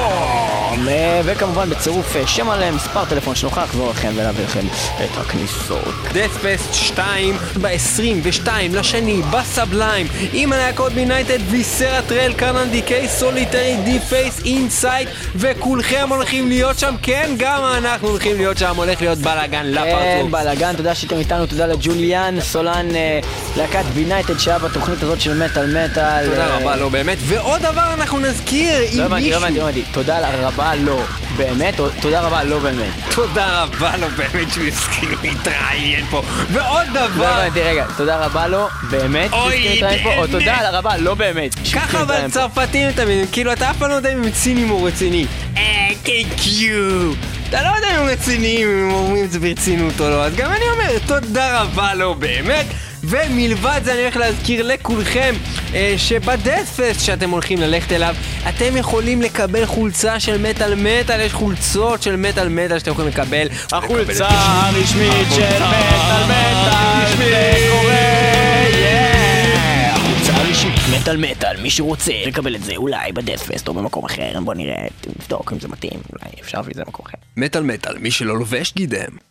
Speaker 4: קום,
Speaker 3: וכמובן בצירוף שם עליהם מספר טלפון שנוכל לחזור לכם ולהביא לכם את הכניסות.
Speaker 4: דאט פסט שתיים ב-עשרים ושתיים לשני בסבליים עם הלהקות בינייטד, ויסרטרל, קרנל דיקיי, סוליטרי, די פייס, אינסייט, וכולכם הולכים להיות שם. כן, גם אנחנו הולכים להיות שם, הולך להיות בלגן לפרצוף.
Speaker 3: כן, בלגן. תודה שאתם איתנו, תודה לג'וליאן סולן, להקת בינייטד שהיה בתוכנית הזאת של מטל מטל.
Speaker 4: תודה רבה לו באמת. ועוד דבר אנחנו נזכיר, אם
Speaker 3: הבנתי, לא הבנתי, לא הבנתי. תודה רבה לא באמת, או תודה רבה לא באמת?
Speaker 4: תודה רבה לו באמת שהוא הסכים להתראיין פה. ועוד דבר...
Speaker 3: לא הבנתי, רגע, תודה רבה לו באמת שהוא הסכים להתראיין פה, או תודה רבה לא באמת.
Speaker 4: ככה אבל צרפתים תמיד, כאילו אתה אף פעם לא יודע אם הם צינים או רציני. אה, thank you. אתה לא יודע אם הם רציניים, אם הם אומרים את זה ברצינות או לא, אז גם אני אומר, תודה רבה לו באמת. ומלבד זה אני הולך להזכיר לכולכם אה, שבדאטפסט שאתם הולכים ללכת אליו אתם יכולים לקבל חולצה של מטל מטל, יש חולצות של מטל מטל שאתם יכולים לקבל.
Speaker 3: החולצה הרשמית של מטל מטל זה קורה, החולצה הרשמית מטל מטל, מי שרוצה לקבל את זה אולי בדאטפסט או במקום אחר, בוא נראה, נבדוק אם זה מתאים, אולי אפשר להביא את זה במקום אחר.
Speaker 4: מטל מטל, מי שלא לובש גידם.